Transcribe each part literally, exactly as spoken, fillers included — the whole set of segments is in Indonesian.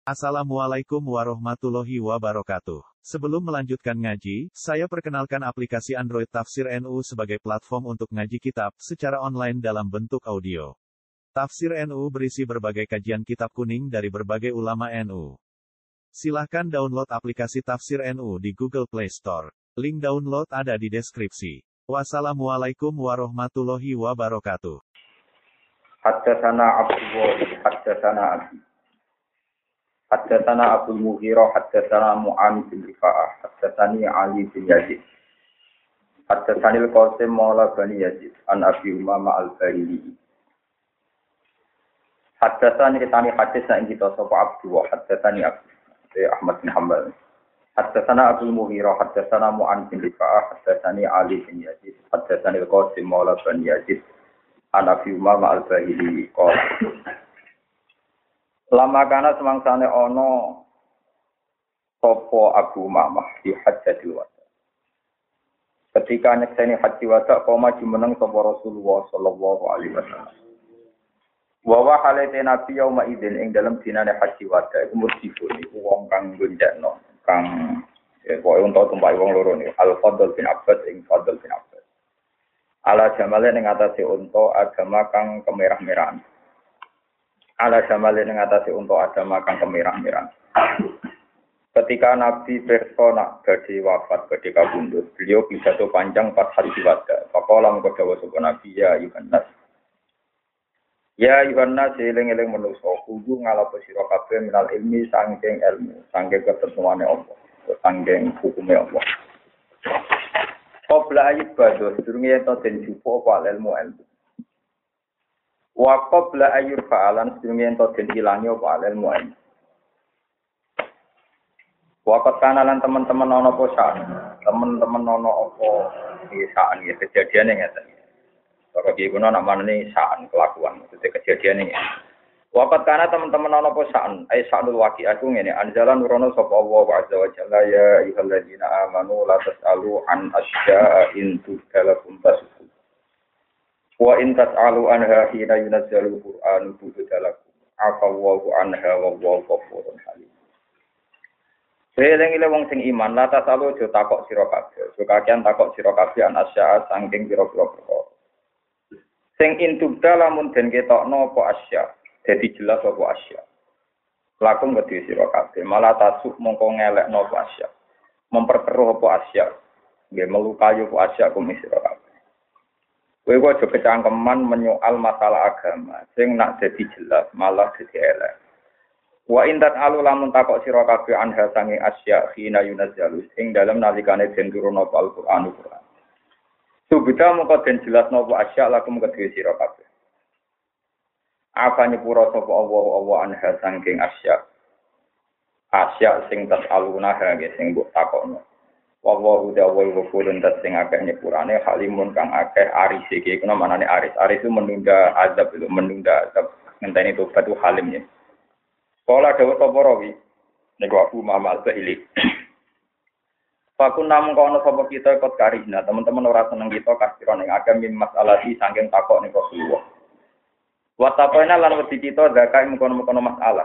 Assalamualaikum warahmatullahi wabarakatuh. Sebelum melanjutkan ngaji, saya perkenalkan aplikasi Android Tafsir N U sebagai platform untuk ngaji kitab secara online dalam bentuk audio. Tafsir N U berisi berbagai kajian kitab kuning dari berbagai ulama N U. Silahkan download aplikasi Tafsir N U di Google Play Store. Link download ada di deskripsi. Wassalamualaikum warahmatullahi wabarakatuh. Haddatsana Abdullah, haddatsana Abi. Haddatsana Abdul Mughirah, haddatsana Mu'an bin Rifa'ah, haddatsani Ali bin Yazid. Haddatsani Al-Qasim Maula Bani Yazid, an Abi Umamah Al-Bahili. Haddatsani kitani hadis yang kita sapa Abdullah, haddatsani Abi Ahmad bin Hanbal. Haddatsana Abdul Mughirah, haddatsana Mu'an bin Rifa'ah, haddatsani Ali bin Yazid, haddatsani Al-Qasim Maula Bani Yazid, an Abi Umamah Al-Bahili. Lama kana semangsane ana sapa Abu Mamah di Hajjatul Wada. Ketika nyekseni haji wada koma jumeneng sapa Rasulullah sallallahu alaihi wasallam. Wa wa halate nabi yauma idzin ing dalem dinane haji wada iku murjifun iku wong kang gonjakno, kang ya pokoke untuk tumpake wong loro niku Al-Fadl bin Abbas ing Fadl bin Abbas. Ala jamale ning atase unta agama kang kemerah-merahan. Ala jamale ning atase untuk agama kang kemerah-merahan. Ketika Nabi persona badhe wafat badhe kabundut, beliau pidato panjang pas haji wada. Faqala mengko dawuh sapa Nabi ya Yohanes. Ya Yohanes eling-eling manusa kudu ngalapo sira kabeh minal ilmi saking ilmu, saking ketentuane Allah, saking hukume Allah. Qabla ayat badhe durunge ento den jupo apa ilmu ilmu. Wa qabla ayyur fa'alan sedurunge ento den ilangi apa ilmu ilmu. Wa kanalan teman-teman ana apa sak. Teman-teman ana apa iki sak iki kejadiane ngeten. Kok iki kuno nak manene sak kelakuan itu kejadiane. Wa kana teman-teman ana apa sak. Ai sa'ul waqi aku ngene anjalan nurono sapa Allah wa azza wa jalla ya ayyuhalladzina amanu la tasalu an asya'a in tudalakum tasfu. Wa in tas'alu anha hina yunazzalu Qur'anu tudalakum afallahu anha wallahu ghafurun halim. Seleng-ele wong sing iman la tasalu aja takok sira kabeh. Sukakian takok sira kabeh an asya'a saking pira-pira perkara. Sing intubda lamun den ketokno apa asya. Dadi jelas apa asya. Lakum kedhe sira kabeh malah tasuk mongko ngelekno apa asya. Memperkeruh apa asya. Nggih melukai apa asya kum sira kabeh. Kowe aja kecangkeman menyoal masalah agama sing nak dadi jelas malah dadi elek. Wa intat alu lamun takok sira kabeh anha sange asya khina yunazzalu ing dalem nalikane den turun apa Al-Qur'an Qur'an. Subita mongko den jelasno apa asya lakum kedhe sira kabeh. Apa nyepura sapa Allah Allah anha saking asya. Asya sing tas aluna ha sing mbok takokno. Wallahu ta'ala ghafurun sing akeh nyepurane halimun kang akeh aris iki kuna manane aris. Aris itu menunda azab itu menunda azab ngenteni tobat itu halimnya. Kala dawuh sapa rawi niku Abu Muhammad Al-Bahili. Fakun namung kono sapa kita ikut karina, teman-teman ora seneng kita kasiron ing agam min masalati saking takok ning Rasulullah. Wa taqana lan wedi kita zakai mengkono-mengkono masalah.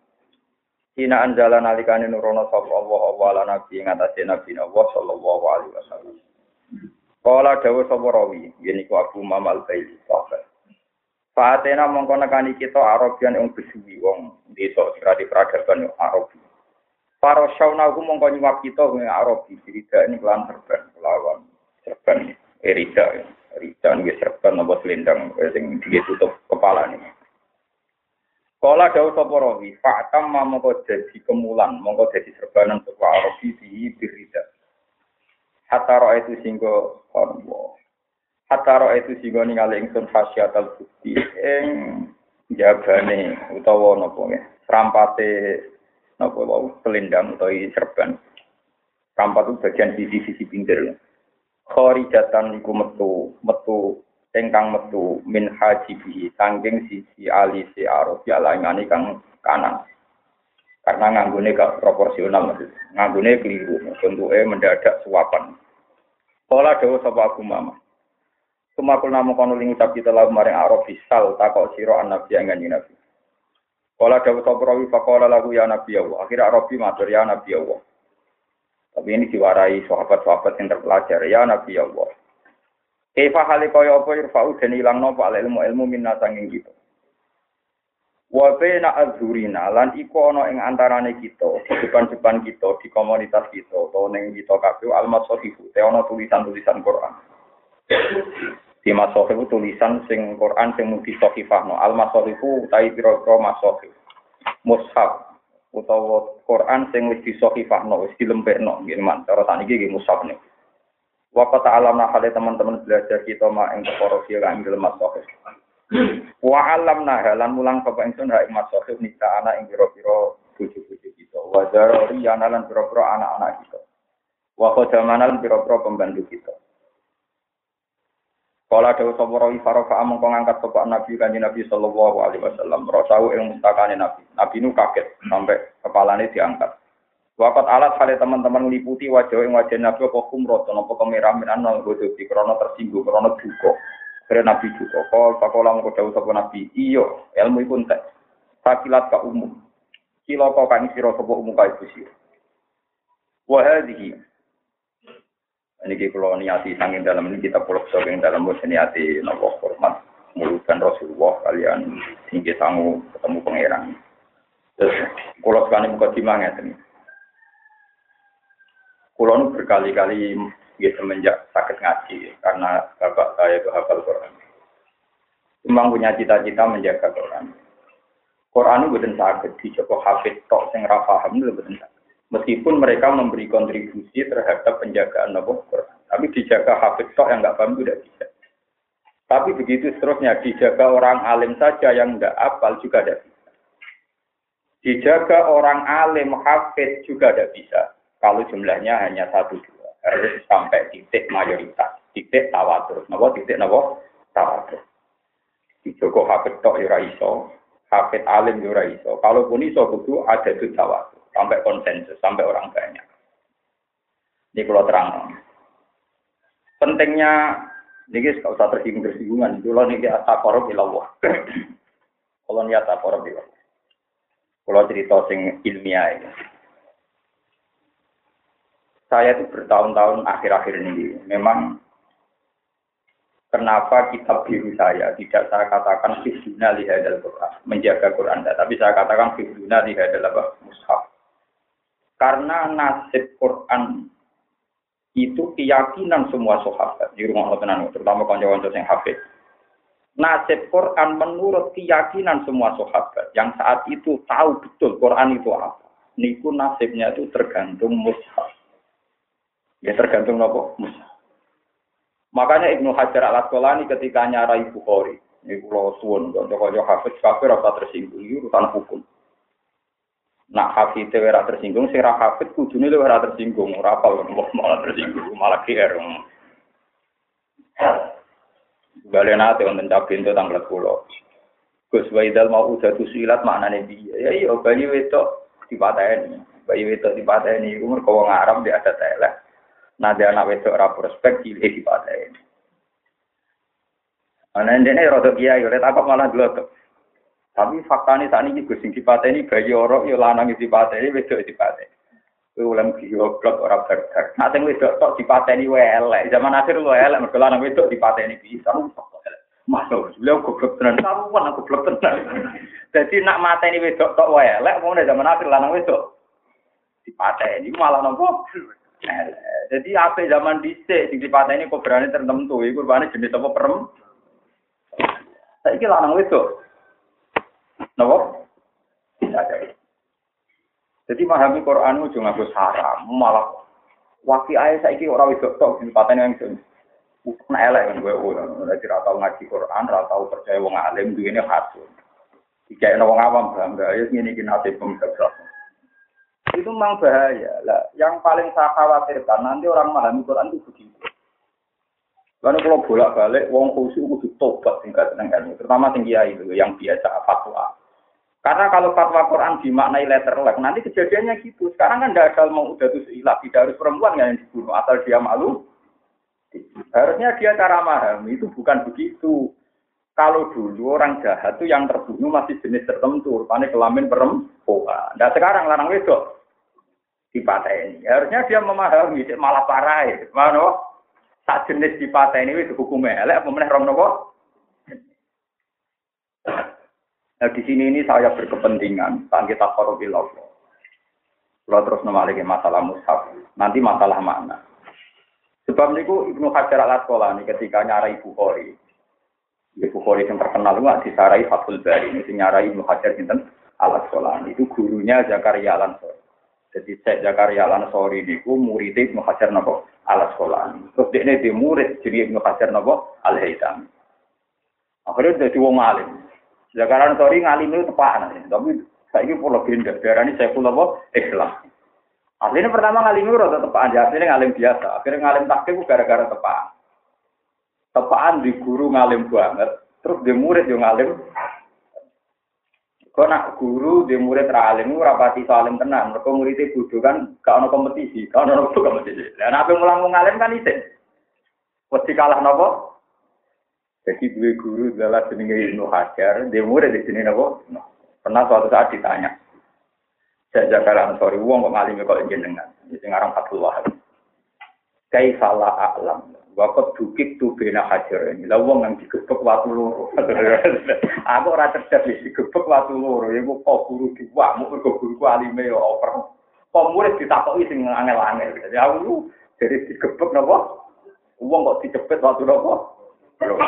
Ina anjala nalikane nurono sapa Allah Allah lan nabi ing atase nabi Allah sallallahu alaihi wasallam. Kala dawuh sapa rawi yen iku Abu Muhammad Al-Bahili sahabat. Fatena mongko nekani kita Arabian ing besuwi wong desa sira di peradaban Arabi. Para sauna ku mongko nyuwap kita ing Arabi dirida ing lan serban lawan serban erida erida nggih serban napa selendang sing ditutup kepalane. Kala dawuh sapa rawi fa'tam mongko dadi kemulan mongko dadi serbanan sapa Arabi di dirida. Hatta ra itu singgo Allah. Hatta ra itu sing ningali ingsun fasyatal bukti ing jabane utawa napa nggih rampate napa wae selendang utawa serban. Rampat itu bagian sisi-sisi pinggir. Kharijatan iku metu metu ingkang metu min hajibi saking sisi alisi Arabi alangane kang kanan. Karena nganggone gak proporsional maksudnya. Nganggone keliru, bentuke mendadak suwapan. Kala dawuh sapa Abu Mamah. Sumakul namu kono ling ucap kita lalu maring Arabi sal takok sira an nabi angan nabi. Kala dawuh sapa rawi faqala lagu ya Nabi Allah. Akhirnya Rabi matur ya Nabi Allah. Tapi ini diwarai sahabat-sahabat yang terpelajar ya Nabi Allah. Kaifa hale kaya apa irfa'u den ilangno pak ilmu-ilmu minna sanging kita. Wa baina azhurina lan iku ana ing antarane kita, di depan-depan kita, di komunitas kita, utawa ning kita kabeh al-masahifu, te ana tulisan-tulisan Quran. Di masahifu tulisan sing Quran sing mung disahifahno. Al-masahifu utawi pira-pira masahif. Mushaf utawa Quran sing wis disahifahno, wis dilempekno, nggih man, cara saniki nggih mushaf niku. Wa ta'alamna hale teman-teman belajar kita mak ing perkara sing ing dalem masahif. Wa alamna halan mulang bapak ingsun ha ing masahib nika ana ing pira-pira bojo-bojo kita. Wa zarari lan pira-pira anak-anak kita. Wa khadamanan pira-pira pembantu kita. Kala dawuh sapa rawi farofa mongko ngangkat sapa Nabi Kanjeng Nabi sallallahu alaihi wasallam rasau ing mustakane Nabi. Nabi nu kaget sampai kepalane diangkat. Waqat alat hale teman-teman ngliputi wajah ing wajah Nabi apa kumrot napa kemerahan ana bojo di krana tersinggung krana duka. Kare Nabi juga, kol pakola mengko dawuh sapa Nabi, iya, ilmu iku entek. Fakilat ka umum. Kila kok kang sira sapa umum kae sira. Wa hadhihi. Niki kula niati sanging dalam ini kita pulau sanging dalam bosen niati napa hormat mulukan Rasulullah kalian tinggi sangu ketemu pangeran. Terus kula sekali muka timang ngeten. Kula nu berkali-kali ya semenjak sakit ngaji karena bapak saya itu hafal Quran. Memang punya cita-cita menjaga Quran. Quran itu bukan sakit dicoba hafid tok sing ra paham itu bukan sakit. Meskipun mereka memberi kontribusi terhadap penjagaan Quran, tapi dijaga hafid tok yang enggak paham itu tidak bisa. Tapi begitu seterusnya dijaga orang alim saja yang enggak hafal juga tidak bisa. Dijaga orang alim hafid juga tidak bisa kalau jumlahnya hanya satu dua. Harus sampai titik mayoritas, titik tawatur. Napa titik napa? Tawatur. Di Joko hafid tok ora iso, hafid alim ora iso. Kalaupun iso kudu ada itu tawatur, sampai konsensus, sampai orang banyak. Ini kalau terang. Pentingnya niki gak usah tersinggung-tersinggungan. Kula niki ataqarrub ila Allah. Kula niat ataqarrub ila Allah. Kula cerita sing ilmiah ini. Saya itu bertahun-tahun akhir-akhir ini memang kenapa kitab biru saya tidak saya katakan hifdzuna li hadzal Quran, menjaga Quran, tapi saya katakan hifdzuna li hadzal mushaf. Karena nasib Quran itu keyakinan semua sahabat di rumah tenan, terutama kanca-kanca sing hafid. Nasib Quran menurut keyakinan semua sahabat yang saat itu tahu betul Quran itu apa. Niku nasibnya itu tergantung mushaf. Ya tergantung nopo mushaf. Makanya Ibnu Hajar Al-Asqalani ketika nyarai Bukhari, ini kula suwun kanca-kanca hafid kafir ora tersinggung iki urusan hukum. Nak hafid ora tersinggung, sing ra hafid kudune ora tersinggung, ora apal malah tersinggung, malah G R. Balena te wonten pintu tanggal sepuluh. Gus Waidal mau udah tusilat maknane piye? Ya iya bayi wedok dipateni. Bayi wedok dipateni iku mergo wong Arab dia ada telek. Nada anak wedok ora prospek cilik dipateni. Ana ndene rada kiai oleh apa malah glotok. Tapi faktane sakniki Gus sing dipateni bayi ora ya lanang dipateni wedok dipateni. Kuwi ulang goblok ora berkah. Nek sing wedok tok dipateni wae elek. Zaman akhir lu elek mergo lanang wedok dipateni bisa. Masuk, beliau goblok tenan, saruan aku goblok tenan. Jadi nak mateni wedok tok wae elek, wong zaman akhir lanang wedok dipateni malah nopo? Jadi apa zaman dhisik sing dipateni kok berani tertentu, iku rupane jenis apa perem. Saiki lanang wedok. Nopo? Bisa jadi. Jadi memahami Quran itu juga nganggo haram, malah waki ae saiki ora wedok tok dipateni yang jenis. Nek elek kan kowe ora ora tau ngaji Quran, ora tau percaya wong alim duwene hasil. Dikene wong awam bangga ya ngene iki nasib pemirsa. Itu memang bahaya. Lah, yang paling saya khawatirkan nanti orang memahami Quran itu begitu. Karena kalau bolak-balik wong khusyuk kudu tobat sing seneng ilmu, terutama sing kiai itu yang biasa fatwa. Karena kalau fatwa Quran dimaknai letterlek, nanti kejadiannya gitu. Sekarang kan tidak ada mau udah tuh ilah, tidak harus perempuan yang dibunuh asal dia malu. Harusnya dia cara memahami itu bukan begitu. Kalau dulu orang jahat itu yang terbunuh masih jenis tertentu, rupanya kelamin perempuan. Nah sekarang larang wedok dipateni. Harusnya dia memahami, malah parah ya. Mana tak jenis dipateni itu hukumnya elek, apa meneh rom nopo? Nah di sini ini saya berkepentingan, kan kita korupilah. Kalau terus memiliki masalah mushaf, nanti masalah makna. Sebab niku Ibnu Hajar al-Asqalani ketika nyarai Bukhari. Ibu Bukhari yang terkenal nggak disarai Fathul Bari ini nyarai Ibnu Hajar sinten al-Asqalani itu gurunya Zakaria al-Ansori. Jadi Syekh Zakaria al-Ansori niku murid Ibnu Hajar napa al-Asqalani. Terus dia di murid jadi Ibnu Hajar napa al-Haythami. Akhirnya jadi wong alim. Zakaria al-Ansori ngalim itu tepakan, tapi saiki pola legenda darani Syekhul apa Islam. Aslinya pertama ngalim itu rada tepakan, aslinya ngalim biasa. Akhirnya ngalim takdir gara-gara tepakan. Tepaan di guru ngalim banget, terus di murid yang ngalim. Kau nak guru di murid ralim, rapati salim tenang. Mereka muridnya bodoh kan, gak ada kompetisi, gak ada kompetisi. Dan apa yang mulang ngalim kan itu, pasti kalah nopo. Jadi dua guru adalah jenenge Ibnu Hajar, di murid di sini nopo. Pernah suatu saat ditanya, saya Zakaria Ansori, uang kok ngalim kok jenengan, itu ngarang Fathullah. Kaifalah a'lam. Waktu dukik tu bena hajar ini, lah wong yang digebek watu loro. Aku ora cerdas iki digebek watu loro, ya kok guru diwamu kok guru alime yo over. Kok murid ditakoki sing angel-angel. Jadi aku jadi digebek napa? Wong kok dicepet watu napa? Lho.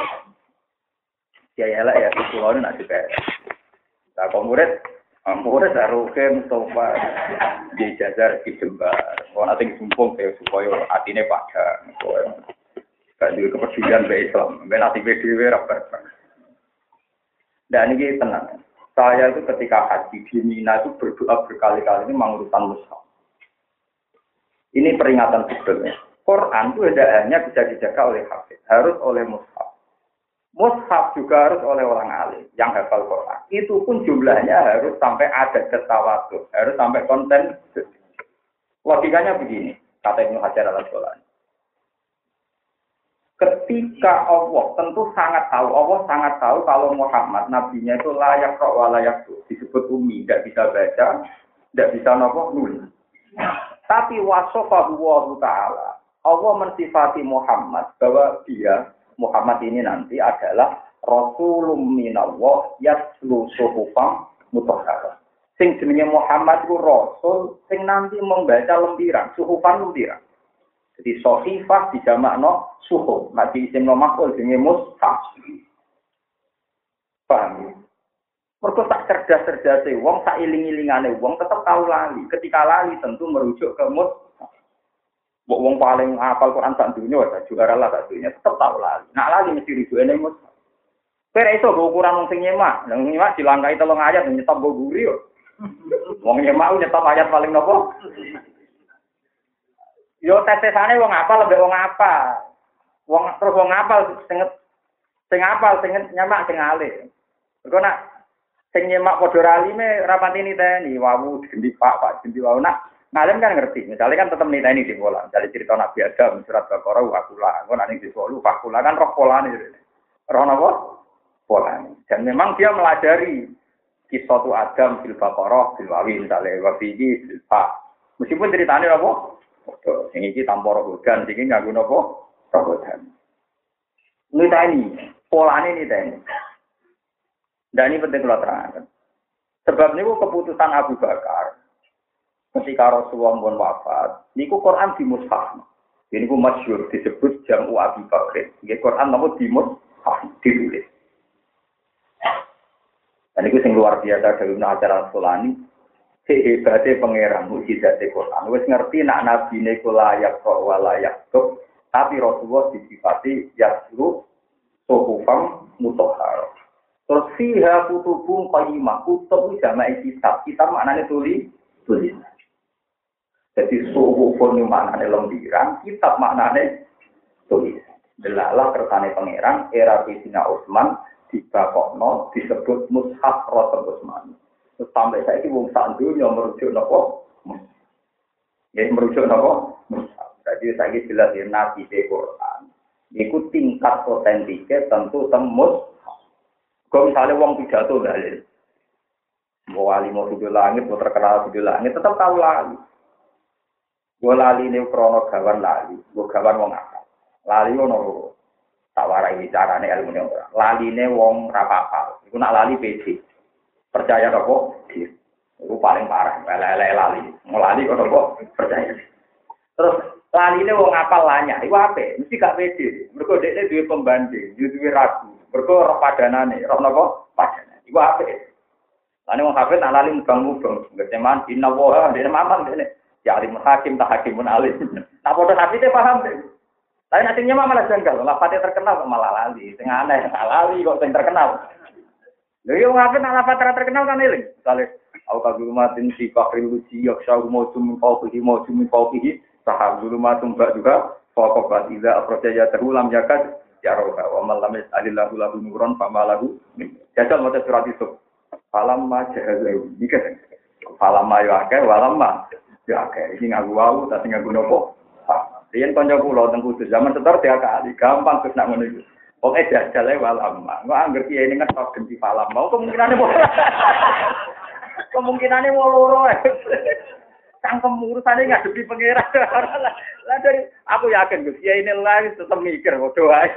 Ya ya lah ya kulo nek dipere. Lah kok murid murid saruke Mustafa di jajar di Jember. Kok nanti sumpung supaya atine padha. Gak juga kepedulian be Islam, ben ati be dhewe ra bareng. Dan ini tenang. Saya itu ketika haji di Mina itu berdoa berkali-kali ini mengurutan mushaf. Ini peringatan sebetulnya. Quran itu tidak hanya bisa dijaga oleh hafiz, harus oleh mushaf. Mushaf juga harus oleh orang alim yang hafal Quran. Itu pun jumlahnya harus sampai ada tawadhu, harus sampai konten. Logikanya begini, kata Ibnu Hajar al-Asqalani. Ketika Allah tentu sangat tahu, Allah sangat tahu kalau Muhammad nabinya itu layak roh walayak tuh disebut umi, tidak bisa baca, tidak bisa nopo nulis. Tapi wasofahu wa taala, Allah mensifati Muhammad bahwa dia Muhammad ini nanti adalah Rasulun minallah yatlu suhufan mutahharah. Sing jenenge Muhammad itu Rasul sing nanti membaca lempiran, suhufan lempiran. Jadi sohifah dijamakno suhuf, nanti isim nomaful jenenge mushaf. Paham ya? Mergo tak cerdas-cerdase wong, sak iling-ilingane wong tetep tahu lali. Ketika lali tentu merujuk ke mushaf. Wong paling hafal Quran sak dunya wae juara lah sak dunya tetep tahu lali. Nak lali mesti rujuke ning mushaf. Kira iso go ukuran wong sing nyemak, nang nyemak dilangkai telung ayat nyetop go guri yo. Wong nyemak nyetop ayat paling nopo? Yo tesesane wong apal lebih wong apa? Wong terus wong apal sing sing apal sing nyemak sing alim. Mergo nak sing nyemak padha ralime rapati niteni wawu gendi Pak Pak gendi wawu nak ngalim kan ngerti. Misalnya kan tetep niteni di sekolah. Misalnya cerita Nabi Adam surat Baqarah wakula. Ngono ning di sekolah wakula kan roh polane. Roh napa? Polane. Dan memang dia melajari kisah tu Adam fil Baqarah fil wawi misalnya wa fihi fil fa. Meskipun ceritane apa? Foto. Sing iki tanpa rogodan, sing iki nganggo napa? Rogodan. Niteni, polane niteni. Dan ini penting kalau terangkan. Sebab niku keputusan Abu Bakar ketika Rasulullah pun wafat, niku Quran di mushaf. Ini ku masyhur disebut Jam'u Abi Bakr. Nggih Quran napa di mushaf ditulis. Dan itu sing luar biasa dari acara Al-Sulani. Hebatnya pangeran mukjizate Quran. Wis ngerti nak nabi niku layak kok walayak tuh, tapi Rasulullah disifati yaslu suhufam mutahhar. Terus fiha kutubun qayyimah, kutub jama'i kitab. Kitab maknane tulis, tulis. Jadi suhufun maknane lembiran, kitab maknane tulis. Delalah kersane pangeran era Sayyidina Utsman dibakokno disebut mushaf Rasul Utsman. Sampai saya ini wong sak dunya merujuk napa? Ya merujuk napa? Jadi saya ini jelas ya nabi Quran. Iku tingkat otentiknya tentu tembus. Kalau misalnya wong pidato dalil, mau wali mau sudut langit, mau terkenal sudut langit, tetap tahu lali. Gue lali ini krono gawan lali, gue gawan wong apa? Lali ono tak warai bicarane ilmu nih orang. Lali ini wong rapapal, itu nak lali P D. Percaya apa? Dia, itu paling parah. Lele lali, mau lali kok apa? Percaya. Terus lali ini wong apal lanya, itu apa? Mesti gak pede. Mereka dia dua pembanding, dia dua ragu. Mereka roh padanane, roh nopo padana. Iku apa? Lani wong hafid nak lali mubang-mubang. Nggak cuman inna woha, dia mamang dia. Ya alim hakim tak hakimun alim. Nah podo hafidnya paham deh. Tapi nantinya malah janggal. Lafadznya terkenal kok malah lali. Tengah aneh, lali kok yang terkenal. Jadi wong hafid nak lafadz terkenal kan eling. Misalnya, aku kagum matin si fakri luci, yaksa mau cumi kau pergi, mau cumi kau pergi. Sahab dulu matung mbak juga. Pokok bat ida aprojaya terulam jakat. Ya roha wa malamis alillahu lahu nuron fama lahu jajal maca surat itu falamma jahazu dikah falamma yo akeh walamma yo akeh iki ngaku wau tapi ngaku nopo riyen kanca kula teng kudus zaman setor dia kali gampang terus nak ngono iku pokoke jajale walamma kok angger kiye ini ngetok genti falamma kemungkinane kemungkinane mau loro cangkem urusane ngadepi pangeran. Lah dari aku yakin Gus, ya ini lagi tetep mikir kok doa.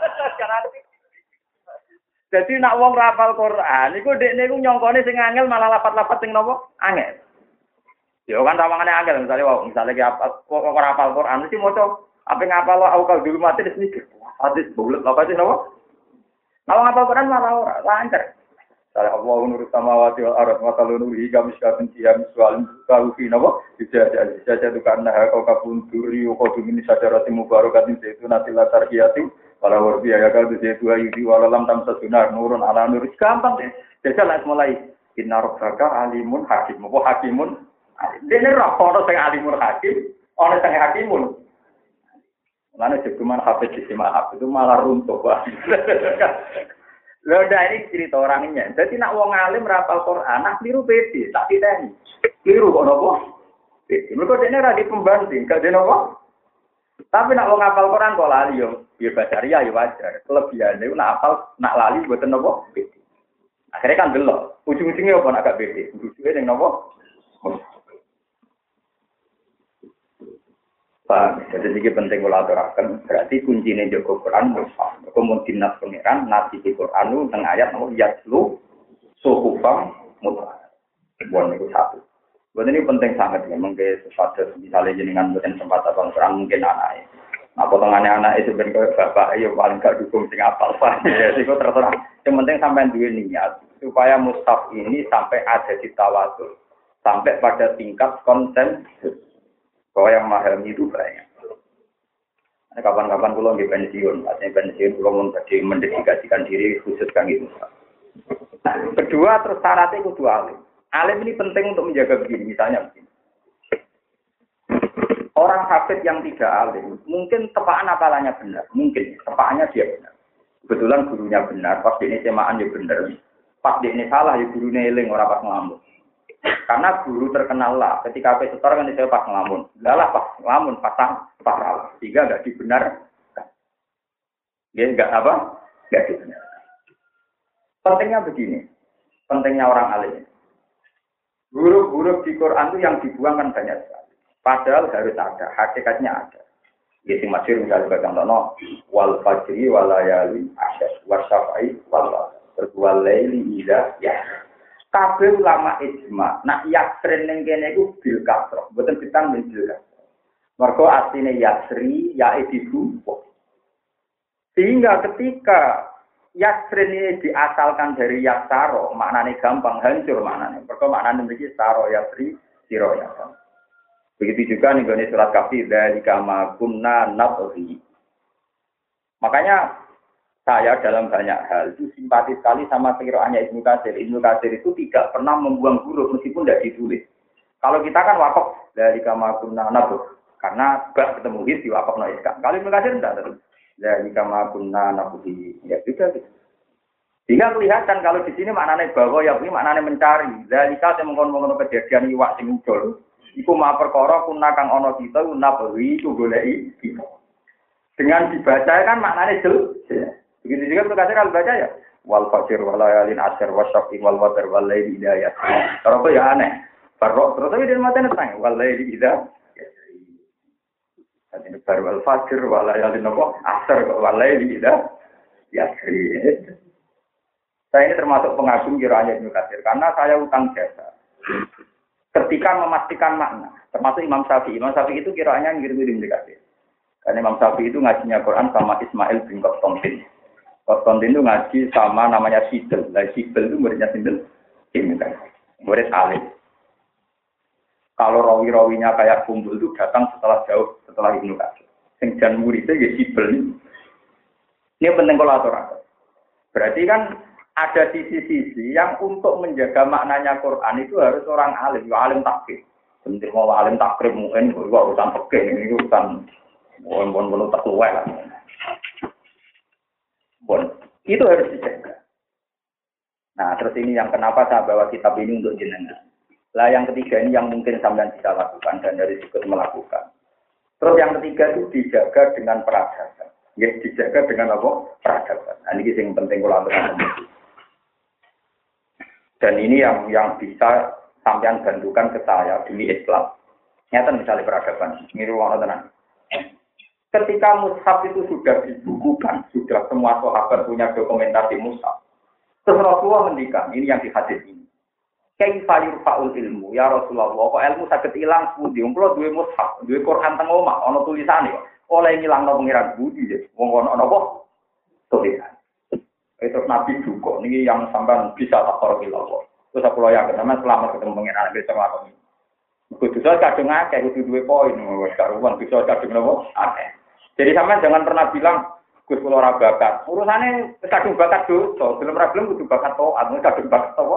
Jadi nak wong rapal Quran iku dekne iku nyongkone sing angel malah lapat-lapat sing napa? Angel. Ya kan rawangane angel misale wong misale ki apa kok rapal Quran mesti maca apa ngapal aku kalau dulu mati wis mikir. Hadis bulet apa sih napa? Kalau ngapal Quran malah ora lancar. Kalau Allah nurut samawati wal ardh wa kalau nuri kami sekalian tiam soal kalau fi napa dijajah dijajah itu karena kau kabun duri kau ini sajarati mubarakatin itu nanti latar kiatim para warbi ya kalau itu ayu di walalam tam sasunar nurun ala nur gampang deh jajah lah mulai inna rabbaka alimun hakim apa hakimun dene ra ono sing alimun hakim ono sing hakimun lan cuman hafid di sima itu malah runtuh Pak. Lho dari cerita orangnya. Jadi nak wong alim rapal Quran, nak keliru pede, tak diteni. Keliru kok napa? Pede. Mergo dene ra di pembanding, gak dene napa? Tapi nak wong hafal Quran kok lali yo, ya basaria ya wajar. Kelebihane nak hafal, nak lali mboten napa? Pede. Akhirnya kan delok, ujung-ujungnya apa nak gak pede? Ujung-ujungnya sing napa? Paham. Jadi ini penting kalau aturakan. Berarti kuncinya Joko Quran mushaf. Kemudian nas pengiran nasi di Quran itu tengah ayat nomor yaslu suhufam mutlak. Buat itu satu. Buat ini penting sangat ya. Mungkin sesuatu misalnya jenengan buatin sempat apa Quran mungkin anaknya. Nah potongannya anak itu sebenarnya bapak ya paling gak dukung sing apal pak. Ya itu terserah. Yang penting sampai dua niat supaya mushaf ini sampai ada di tawasul. Sampai pada tingkat konsensus. Bahwa yang memahami itu banyak. Nah, kapan-kapan pulau di pensiun, artinya pensiun pulau menjadi mendedikasikan diri khusus kan gitu. Nah, kedua terus syaratnya kudu alim. Alim ini penting untuk menjaga begini, misalnya begini. Orang hafid yang tidak alim, mungkin tepaan apalannya benar, mungkin tepaannya dia benar. Kebetulan gurunya benar, pas ini semaan dia benar. Pas ini salah ya gurunya eling orang pas ngelamun. Karena guru terkenal lah, ketika apa setor kan saya pas ngelamun, lah pas ngelamun pasang pas salah, sehingga nggak dibenarkan. Dia nggak apa, nggak dibenarkan. Pentingnya begini, pentingnya orang alim. Huruf-huruf di Quran itu yang dibuang kan banyak sekali. Padahal harus ada, hakikatnya ada. Yaitu masyhur misalnya bagian tono wal fajri walayali asyad wasyafai wal wal laili ida ya. Kabeh ulama ijma, nak yasrin ning kene iku bil kasroh, mboten ditang bil kasroh. Mergo asline yasri ya ibu. Sehingga ketika yasrin ini diasalkan dari yaksaro, maknane gampang, hancur maknane. Mergo maknane mriki saro yasri sira yasar. Begitu juga ning gone surat Kafir dari kama kunna nabghi. Makanya saya dalam banyak hal itu simpati sekali sama pikirannya Ibnu Katsir. Ibnu Katsir itu tidak pernah membuang huruf meskipun tidak ditulis. Kalau kita kan wakaf dari kama kunna nabghi karena gak ketemu his di wakaf no iskan. Kalau Ibnu Katsir tidak terus dari kama kunna nabghi ya juga gitu. Sehingga kelihatan kalau di sini maknanya bahwa ya ini maknanya mencari. Dari saat yang mengkonon-konon kejadian iwak sing muncul, iku ma perkara kuna kang ana kita nabghi iku goleki kita. Dengan dibaca kan maknanya jelas. Begitu juga Ibnu Katsir kalau baca ya, wal fajr wal layalin asr wasyafi wal watr wal laili idza yasri. Terus ya aneh. Barok terus tapi dia mate nang wal laili idza yasri. Tadi baru wal fajr wal layalin apa asr wal laili idza yasri. Saya ini termasuk pengagum kiranya Ibnu Katsir karena saya utang jasa. Ketika memastikan makna, termasuk Imam Syafi'i. Imam Syafi'i itu kiranya ngirim Ibnu Katsir. Karena Imam Syafi'i itu ngajinya Quran sama Ismail bin Konstantin. Konstantin itu ngaji sama namanya Sidel. Lah Sidel itu muridnya Sidel. Ibnu Katsir. Murid alim. Kalau rawi-rawinya kayak kumpul itu datang setelah jauh setelah Ibnu Katsir. Sing jan muridnya ya Sidel. Ini penting kalau aturan. Berarti kan ada sisi-sisi yang untuk menjaga maknanya Quran itu harus orang alim, ya alim takrib. Sebenarnya mau alim takrib mungkin juga urusan fikih, ini urusan bon-bon tak luwe lah. Bon, itu harus dijaga. Nah, terus ini yang kenapa saya bawa kitab ini untuk jenengan. Lah yang ketiga ini yang mungkin sampean bisa lakukan dan dari ikut melakukan. Terus yang ketiga itu dijaga dengan peradaban. Ya, dijaga dengan apa? Peradaban. Nah, ini yang penting kalau aturan. Dan ini yang yang bisa sampean bantukan ke saya demi Islam. Nyata misalnya peradaban. Ini ruang tenang. Ketika mushaf itu sudah dibukukan, sudah semua sahabat punya dokumentasi mushaf. Terus Rasulullah mendikan, ini yang di hadis ini. Kaifa yurfa'ul ilmu ya Rasulullah. Kok ilmu saged ilang pundi? Wong kula duwe mushaf, duwe Quran teng omah, ana tulisane. Oleh ngilangno pengiran budi ya. Wong ana apa? Tulisan. Itu Nabi juga, ini yang sampai bisa takor kilau. Terus aku loyak sama selamat ketemu pengiran bisa ngelakuin. Kudu saya kadung akeh, kudu dua poin, karuan bisa kadung nopo akeh. Jadi sampai jangan pernah bilang Gus kula ora bakat. Urusane kadung bakat dosa, belum ra belum kudu bakat taat, kadung bakat apa?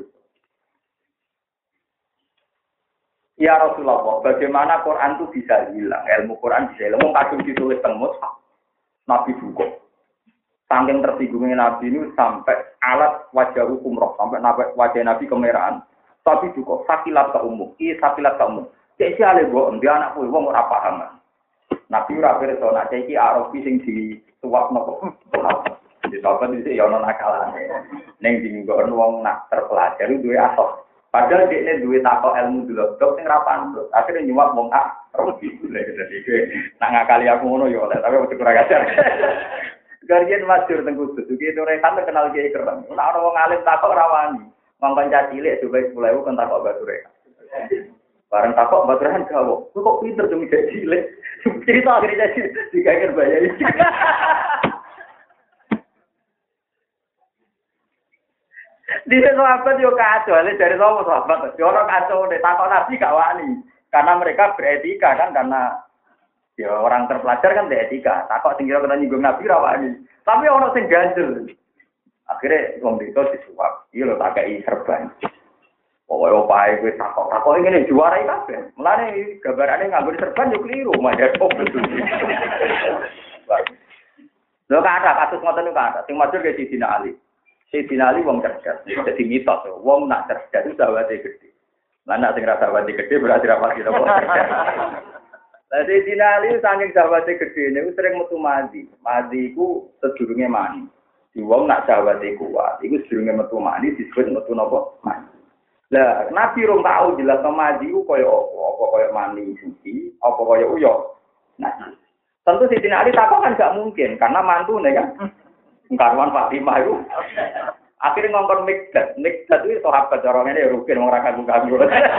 Ya Rasulullah, bagaimana Quran itu bisa hilang? Ilmu Quran bisa hilang. Kadung ditulis teng mushaf. Nabi juga. Saking tersinggungnya Nabi ini sampai alat wajah hukum roh, sampai wajah Nabi kemerahan. Tapi juga sakilat ke umum, iya sakilat ke umum. Cek si ale gue, dia anak pun gue nggak paham. Nabi ura persona, cek si Arabi sing di suap nopo. Di sahabat itu ya non akalan. Neng di gue wong nak terpelajar itu dua asal. Padahal dia ini dua takok ilmu dulu, dok sing rapan. Akhirnya nyuap wong ah, terus gitu lah. Jadi nak ngakali aku ngono ya, tapi waktu kurang ajar. Garjen masyhur teng Kudus, iki itu rekan kenal kiai keren. Nek ana wong alim takok rawani, mongkon cilik coba sepuluh ribu kan takok batu rekan. Bareng takok batu rekan gawo. Kok pinter demi cilik. Cerita akhirnya jadi digager bayar iki. Di sahabat yo kacau, dari sama sahabat. Yo ora kacau nek takok Nabi gak wani. Karena mereka beretika kan karena ya orang terpelajar kan etika, takut tinggal kena nyinggung Nabi rawani. Tapi orang sing ganjel. Akhirnya wong itu disuap. Iya lho tak kei serban. Pokoke opae kowe takok. Takok ngene juara iki kabeh. Mulane gambarane nganggo serban yo kliru, madhep betul. Lho kata kasus ngoten niku kata sing matur ke Sidina Ali. Sidina Ali wong cerdas. Dadi mitos wong nak cerdas itu sawate gede. Lah nak sing ra sawate gede berarti ra pasti wong cerdas. Jadi dinali saking sahabate gede niku sering metu mandi. Mandi iku sedurunge mani. Di wong nak sahabate kuat, iku sedurunge metu mani disebut metu napa? Mani. Lah, Nabi rong tau jelas mandi iku kaya apa? Apa kaya mani suci, apa kaya uyah. Nah, tentu si dinali takok kan gak mungkin karena mantune kan. Karuan Fatimah itu. Akhirnya ngongkon Mikdad. Mikdad itu sahabat cara ngene rugen wong ra kagum-kagum.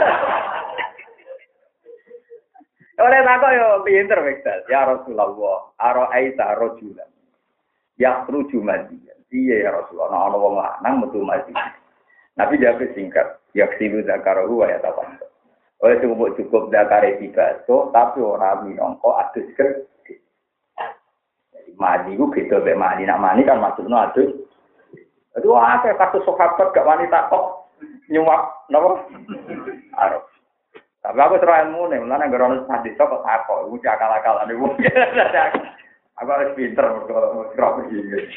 Oleh takok yo pinter Mikdad. Ya Rasulullah, ara'aita rajulan yakhruju Madinah. Iya ya Rasulullah, ana wong lanang metu Madinah. Nabi jawab singkat, yaksilu zakarahu wa yatawadda. Oleh cukup cukup zakare dibaso, tapi ora minangka adus gede. Jadi mandi ku beda mek mandi, nak mandi kan maksudnya adus. Itu akeh kasus sahabat gak wani takok nyuwap napa? Arep. Tapi aku serah ilmu nih, mulanya nggak orang hadis kok takut, aku akal-akalan nih, aku harus pinter kalau mau begini.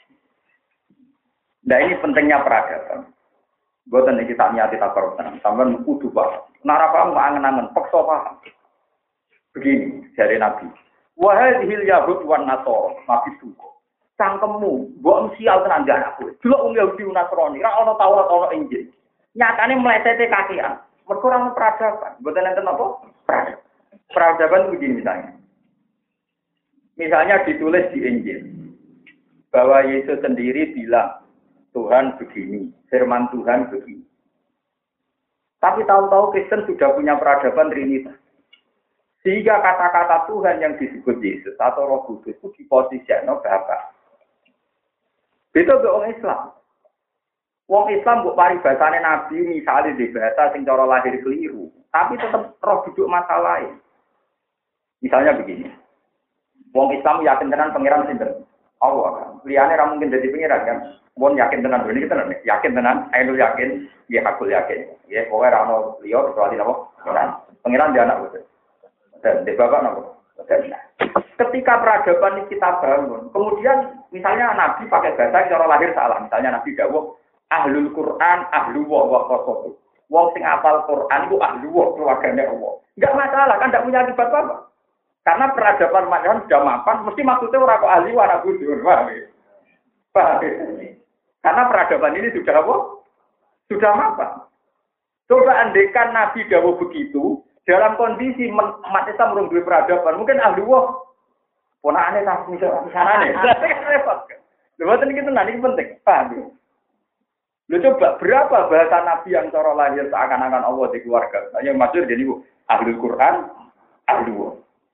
Nah ini pentingnya peradaban. Gue tadi kita niati tak korban, sampai kudu banget. Narapam nggak angen-angen, paksa paham. Begini dari Nabi. Wahai hil Yahud wan Nasor, Nabi suko. cangkemmu, mbok sial tenan anakku. Delok wong Yahudi Nasrani, ra ana Taurat ana Injil. Nyatane mletete kakean. Mergo ora ono peradaban. Mboten enten apa? Peradaban. Peradaban begini misalnya. Misalnya ditulis di Injil bahwa Yesus sendiri bilang Tuhan begini, firman Tuhan begini. Tapi tahu-tahu Kristen sudah punya peradaban Trinitas. Sehingga kata-kata Tuhan yang disebut Yesus atau Roh Kudus itu diposisikan Bapa. Beda dengan orang Islam. Wong Islam mbok paribasane Nabi misalnya di bahasa sing cara lahir keliru, tapi tetap roh duduk masalah. Misalnya begini. Wong Islam yakin tenan pangeran sinten? Allah. Liyane ra mungkin dadi pangeran kan. Wong yakin tenan ini tenan, yakin tenan, ayo yakin, ya aku yakin. Ya pokoke ra ono liya kecuali napa? Pangeran. Pangeran dia anak betul. Dan di bapak napa? Ketika peradaban ini kita bangun, kemudian misalnya Nabi pakai bahasa cara lahir salah, misalnya Nabi dawuh ahlul Quran, ahlu wa wa qasatu. Wong sing apal Quran iku ahlu wa keluargane Allah. Enggak masalah, kan enggak punya akibat apa. Karena peradaban manusia sudah mapan, mesti maksudnya orang kok ahli wa anak budur, paham ya? Paham ya? Karena peradaban ini sudah apa? Sudah mapan. Coba andekan Nabi dawuh begitu, dalam kondisi umat Islam belum duwe peradaban, mungkin ahli wa ponakane tak misal misalane. Repot kan. Lha boten iki tenan iki penting, paham ya? Lho coba berapa bahasa Nabi yang cara lahir seakan-akan Allah di keluarga. Yang maksud jadi ahli Quran, ahli wa.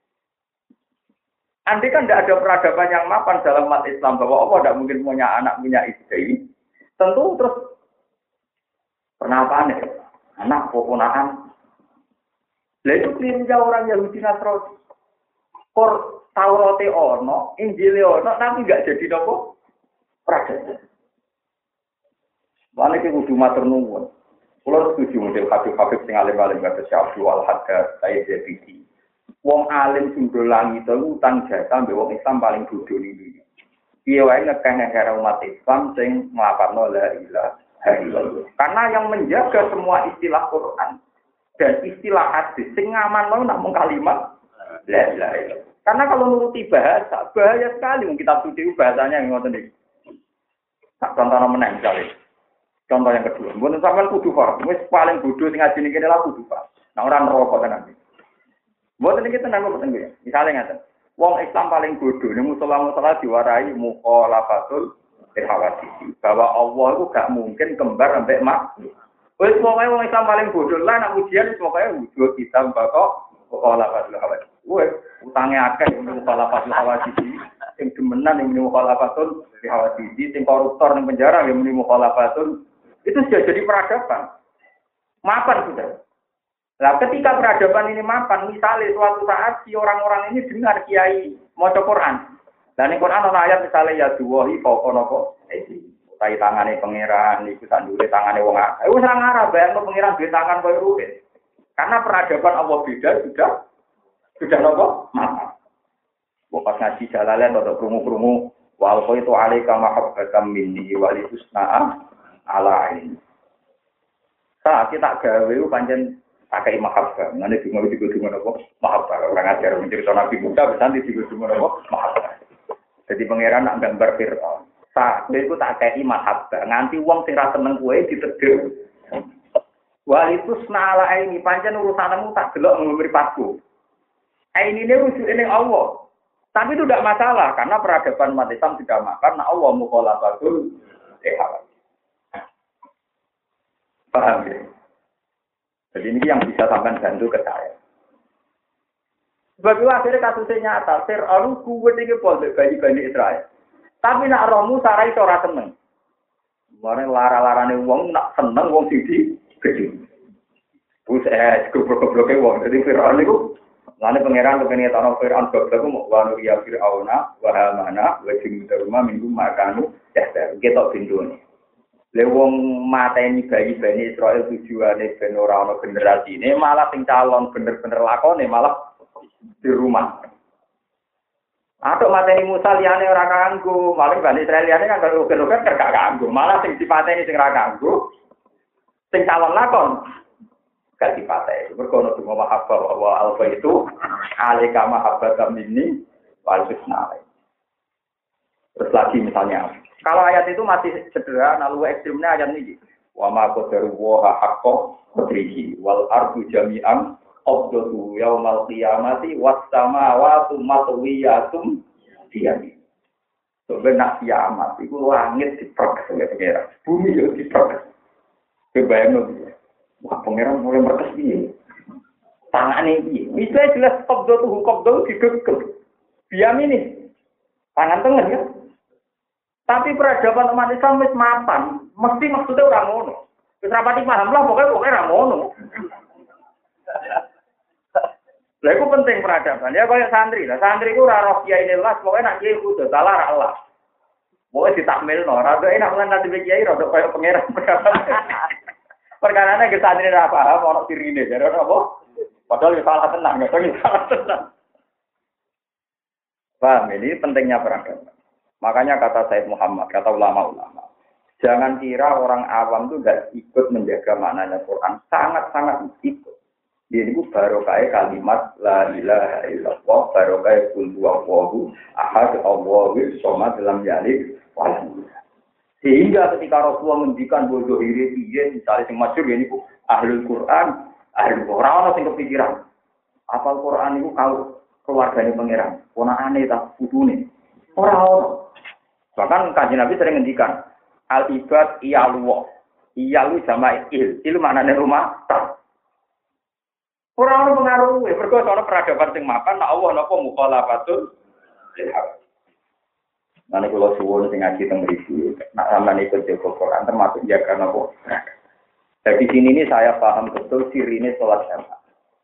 Andai kan tidak ada peradaban yang mapan dalam umat Islam bahwa Allah tidak mungkin punya anak, punya istri, tentu terus pernah aneh, anak ponakan. Lah itu kelirunya orang Yahudi Nasrani. Kor Taurate ono, Injile ono, tapi nggak jadi nopo peradaban. Mana kita kudu matur nuwun. Kulo setuju model Habib-habib sing alim-alim kata Syafii Al-Haddad, Sayyid Zabidi. Wong alim sundul langit itu utang jasa mbek wong Islam paling bodho iki. Piye wae ngekeh negara umat Islam sing nglapatno la ilaha illallah. Karena yang menjaga semua istilah Quran dan istilah hadis sing ngamanno namung kalimat la ilaha illallah. Karena kalau nuruti bahasa, bahaya sekali wong kitab suci bahasanya yang ngoten iki. Tak contohna meneh misalnya. Contoh yang kedua, mboten sampean kudu paham, wis paling bodho sing ngajine kene lha kudu paham. Nah ora neraka tenan. Mboten iki tenan mboten nggih. Misale ngaten. Wong Islam paling bodho ning musala-musala diwarai mukhalafatul irhawati. Bahwa Allah itu gak mungkin kembar ambek mak. Wis pokoke wong Islam paling bodho lah nek ujian pokoke wujud kita bakok mukhalafatul irhawati. Wes utange akeh ning mukhalafatul irhawati. Sing demenan ning mukhalafatul irhawati, sing koruptor ning penjara yang muni mukhalafatul itu sudah jadi peradaban. Mapan sudah. Nah, ketika peradaban ini mapan, misalnya suatu saat si orang-orang ini dengar kiai maca Quran. Dan di Quran ada ayat misalnya ya duwahi fauqa napa? Tai tangane pangeran iku sandure tangane wong akeh. Wis ora ngarah bayangno pangeran duwe tangan koyo ruwet. Karena peradaban Allah beda sudah sudah napa? Mapan. Bapak ngaji jalalan atau krungu-krungu wal qaitu alaika mahabbatam minni wa litusna'a ala ain. Saat kita gawe pancen pakai mahabbah. Ngene bingung iki kudu ngono apa? Mahabbah. Orang ajar mencerita Nabi Musa besan di kudu ngono apa? Mahabbah. Jadi pangeran nak gambar Firaun. Sa, iku tak kei mahabbah. Nganti wong sing ra seneng kowe ditegur. Wa litusna ala aini pancen urusanmu tak delok ngripatku. Ainine rujuke ning Allah. Tapi itu tidak masalah karena peradaban umat Islam tidak makan. Nah Allah mukhalafatul irhawati. Paham ya? Jadi ini yang bisa sampai bantu ke saya. Sebab itu akhirnya kasusnya nyata. Fir'aun kuwet ini boleh bagi-bagi Israel. Tapi nak romu sarai ora seneng. Kemarin lara-larane wong nak seneng wong siji gede. Terus eh goblok-gobloknya wong. Jadi Fir'aun itu lane pangeran kepengin tahu Fir'aun goblok mau wanu ya Fir'auna wa hamana wa jumlah rumah minggu makanu ya ketok bindune. Le wong mateni bayi-bayi Israel tujuane ben ora ana generasine malah sing calon bener-bener lakone malah di rumah. Atok mateni Musa liyane ora kanggo, malah Bani Israel liyane kan ugen-ugen gak kanggo, malah sing dipateni sing ora kanggo sing calon lakon gak dipateni. Mergo ono donga mahabbah wa alfa itu alika mahabbatam minni wal husna. Terus lagi misalnya, kalau ayat itu masih sederhana, lalu ekstrimnya ayat ini. Wa ma qadaru wa haqqo qadrihi wal ardu jami'an qabdatu yaumal qiyamati was samawati matwiyatun biyadi. Sebenarnya kiamat itu langit diperkes oleh pengeran, bumi juga diperkes. Kebayang wah pengeran mulai merkes ini. Tangan ini, itu jelas qabdatu qabdatu digegel. Biam ini, tangan tengah ya. Tapi peradaban umat Islam wis mapan, mesti maksudnya orang ngono. Wis rapati paham lah, pokoknya pokoknya orang ngono. Lah itu penting peradaban. Ya kayak santri lah, santri itu ora roh kiai nelas, pokoknya nak kiai kudu salah ra Allah. Pokoknya ditakmilno, rada enak lan nanti kiai rada kayak pangeran. Perkarane ke santri ra paham ono sirine, jare apa? Padahal ya salah tenang, ya salah tenang. Paham, ini pentingnya peradaban. Makanya kata Said Muhammad, kata ulama-ulama, jangan kira orang awam itu nggak ikut menjaga maknanya Quran, sangat-sangat ikut. Jadi itu barokah kalimat la ilaha illallah, barokah qul huwallahu ahad Allahu somad dalam yalid walam. Sehingga ketika Rasulullah mendikan bodoh iri piye misalnya sing masyhur ini ku ahlul Quran, ahlul Quran sing kepikiran. Apal Quran itu kalau keluarganya pangeran, ponakane ta putune. Ora ono. Bahkan Kanjeng Nabi sering ngendikan, al ibad iyalwa. Iyalu sama il. Il maknane rumah tak. Ora ono pengaruh, mergo ana peradaban sing mapan, nek Allah napa mukhalafatul lihaq. Nane kula suwun sing ngaji teng mriki, nek sampeyan ikut jaga Quran termasuk jaga napa. Jadi sini ini saya paham betul sirine salat jamaah.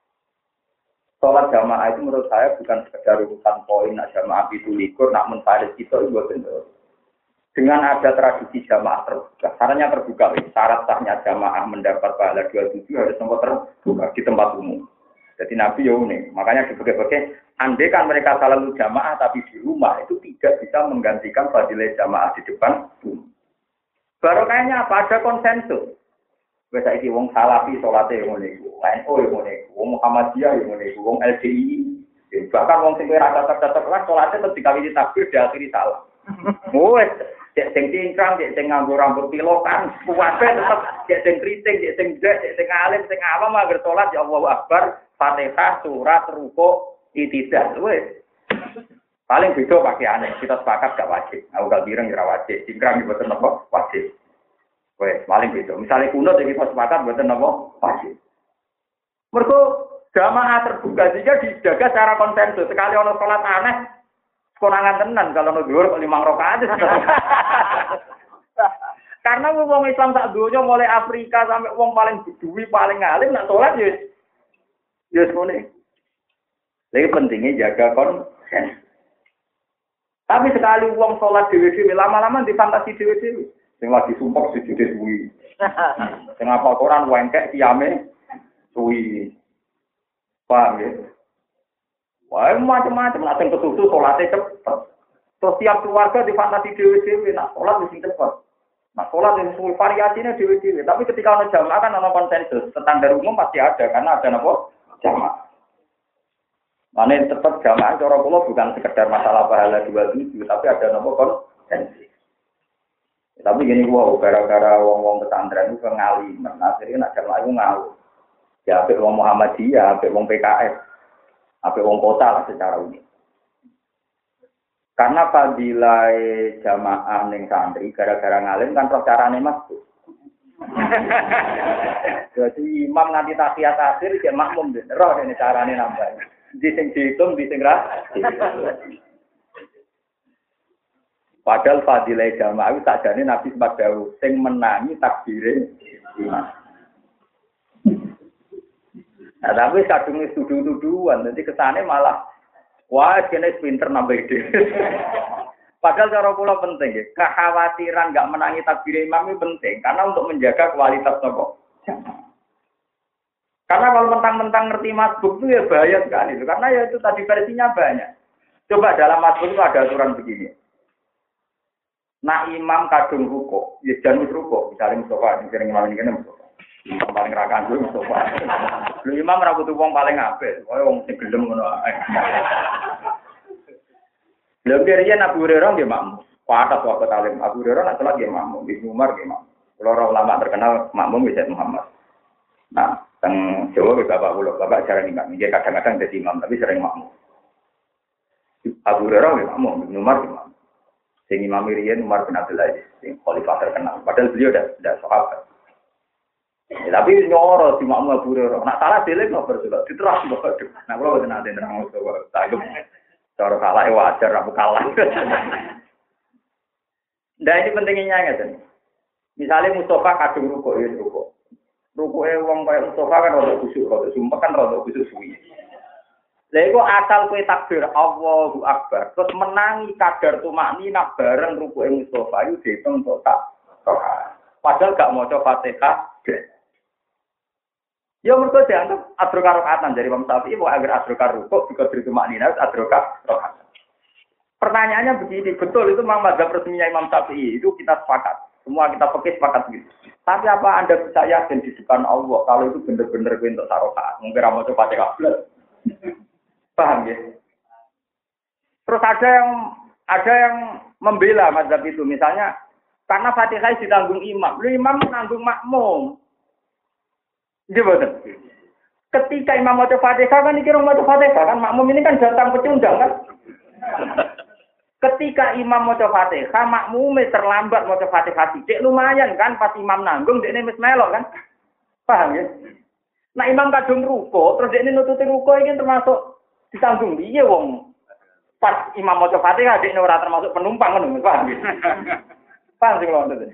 Salat jamaah itu menurut saya bukan sekedar urusan poin, nak jamaah itu likur, nak menfaris itu itu benar. Dengan ada tradisi jamaah terbuka, caranya terbuka, syarat sahnya jamaah mendapat pahala dua puluh tujuh harus tempat terbuka di tempat umum. Jadi Nabi ya unik, makanya dipakai-pakai, andai kan mereka selalu jamaah tapi di rumah itu tidak bisa menggantikan fadilah jamaah di depan umum. Barokahnya apa? Ada konsensus. Wes saiki wong Salafi salate yo ngene iku, N U yo ngene iku, wong Muhammadiyah yo ngene iku, wong L D I, bahkan wong sing ora cocok-cocok lah salate tetep dikawini takbir diakhiri salam. Wes cek sing cingkrang, cek sing nganggo rambut pilokan, kuwabe tetep cek sing kriting, cek sing jek, cek sing alim, sing awam agar salat ya Allahu Akbar, Fatihah, surat, rukuk, itidah. Wes. Paling beda pakaiane, kita sepakat gak wajib. Aku gak bireng ora wajib, cingkrang mboten napa wajib. Wes, paling beda. Misalnya kunut ya kita sepakat mboten napa wajib. Mergo jamaah terbuka juga dijaga secara konsensus. Sekali ono salat aneh konangan tenan kalau no dhuwur kok lima rakaat. Karena wong Islam sak donya mulai Afrika sampai wong paling duwi paling alim nak salat ya ya ngene. Lagi pentingnya jaga konsen. Tapi sekali wong salat dhewe-dhewe lama-lama difantasi dhewe-dhewe. Sing lagi sumpah sujud suwi. Sing apal Quran wengkek kiyame suwi. Paham ya? Wah, macam-macam lah sing kesusu salate cepet. Terus tiap keluarga difantasi dhewe-dhewe nak salat wis cepet. Nah, salat yang suwi variasinya dhewe-dhewe. Tapi ketika ana jamaah kan ana konsensus. Standar umum pasti ada karena ada napa? Jamaah. Mane tetap jamaah cara kula bukan sekedar masalah pahala dua puluh tujuh, tapi ada napa konsensus. Tapi gini wow, gara-gara wong-wong pesantren itu ngaliman, akhirnya nak jamaah itu ngawur. Ya, apik wong Muhammadiyah, apik wong P K S, apik wong kota lah secara umum. Karena fadilah jamaah ning santri gara-gara ngalim kan roh carane masuk. Jadi imam nganti tahiyat akhir cek makmum roh dene carane nambah. Di sing dihitung di sing ra. Padahal fadilah jamaah itu sakjane Nabi sempat dawuh sing menangi takbire imam. Nah, tapi kadung wis tudu-tuduan, nanti kesane malah wah kene pinter nambah ide. Padahal cara kula penting ya, kekhawatiran enggak menangi takbir imam itu penting karena untuk menjaga kualitas nopo. Karena kalau mentang-mentang ngerti masbuk itu ya bahaya sekali itu karena ya itu tadi versinya banyak. Coba dalam masbuk itu ada aturan begini. Nah imam kadung rukuk, ya jangan rukuk, misalnya Mustafa, sering ngalamin kene Mustafa. Imam paling rakan dulu Mustafa. Lu imam ra kudu wong paling apik, koyo wong sing gelem ngono ae. Lha kiriyen Abu Hurairah nggih makmum. Patas waktu talim Abu Hurairah nak salat ya makmum, Ibnu Umar ya makmum. Kalau ulama terkenal makmum Zaid Muhammad. Nah, teng Jawa ke bapak kula, bapak jarang imam. Dia kadang-kadang jadi imam tapi sering makmum. Abu Hurairah ya makmum, Ibnu Umar ya makmum. Sing Imam Riyan Umar bin Abdul Aziz, sing khalifah terkenal. Padahal beliau sudah sudah sahabat. Ya, tapi nyoro di makmum Abu Hurairah. Nak salah dhewe kok bersuluk, diterus kok. Nah, kula boten nate nerang kok. Takut. Cara salah wajar aku kalah. Nah ini pentingnya ngeten. Misalnya Mustafa kadung rukuk ya rukuk. Rukuke wong kaya Mustafa kan rada khusyuk, rada sumpah kan rada khusyuk suwi. Lha iku asal kowe takbir Allahu Akbar, terus menangi kadar tumakni nak bareng rukuke Mustafa iku diitung total. Padahal gak maca Fatihah. Ya mergo dianggap adroka rakaatan dari Imam Syafi'i bahwa agar adroka rukuk juga tumakni nah adroka rakaat. Pertanyaannya begini, betul itu memang mazhab resminya Imam Syafi'i, itu kita sepakat. Semua kita pakai sepakat gitu. Tapi apa Anda bisa yakin di depan Allah kalau itu benar-benar untuk sarokat? Mungkin ramu coba Fatihah. Paham ya? Terus ada yang ada yang membela mazhab itu, misalnya karena Fatihah ditanggung imam, lu imam menanggung makmum. Gimana? Ketika imam mau coba Fatihah kan dikira mau coba Fatihah kan makmum ini kan datang pecundang kan? Ketika imam maca Fatihah, makmume terlambat maca Fatihah sithik lumayan kan pas imam nanggung dekne wis melok kan. Paham ya? Nah imam kadung ruko, terus dekne nututi ruko iki termasuk ditanggung piye wong. Pas imam maca Fatihah dekne ora termasuk penumpang ngono, paham ya? Paham sing lho ngoten.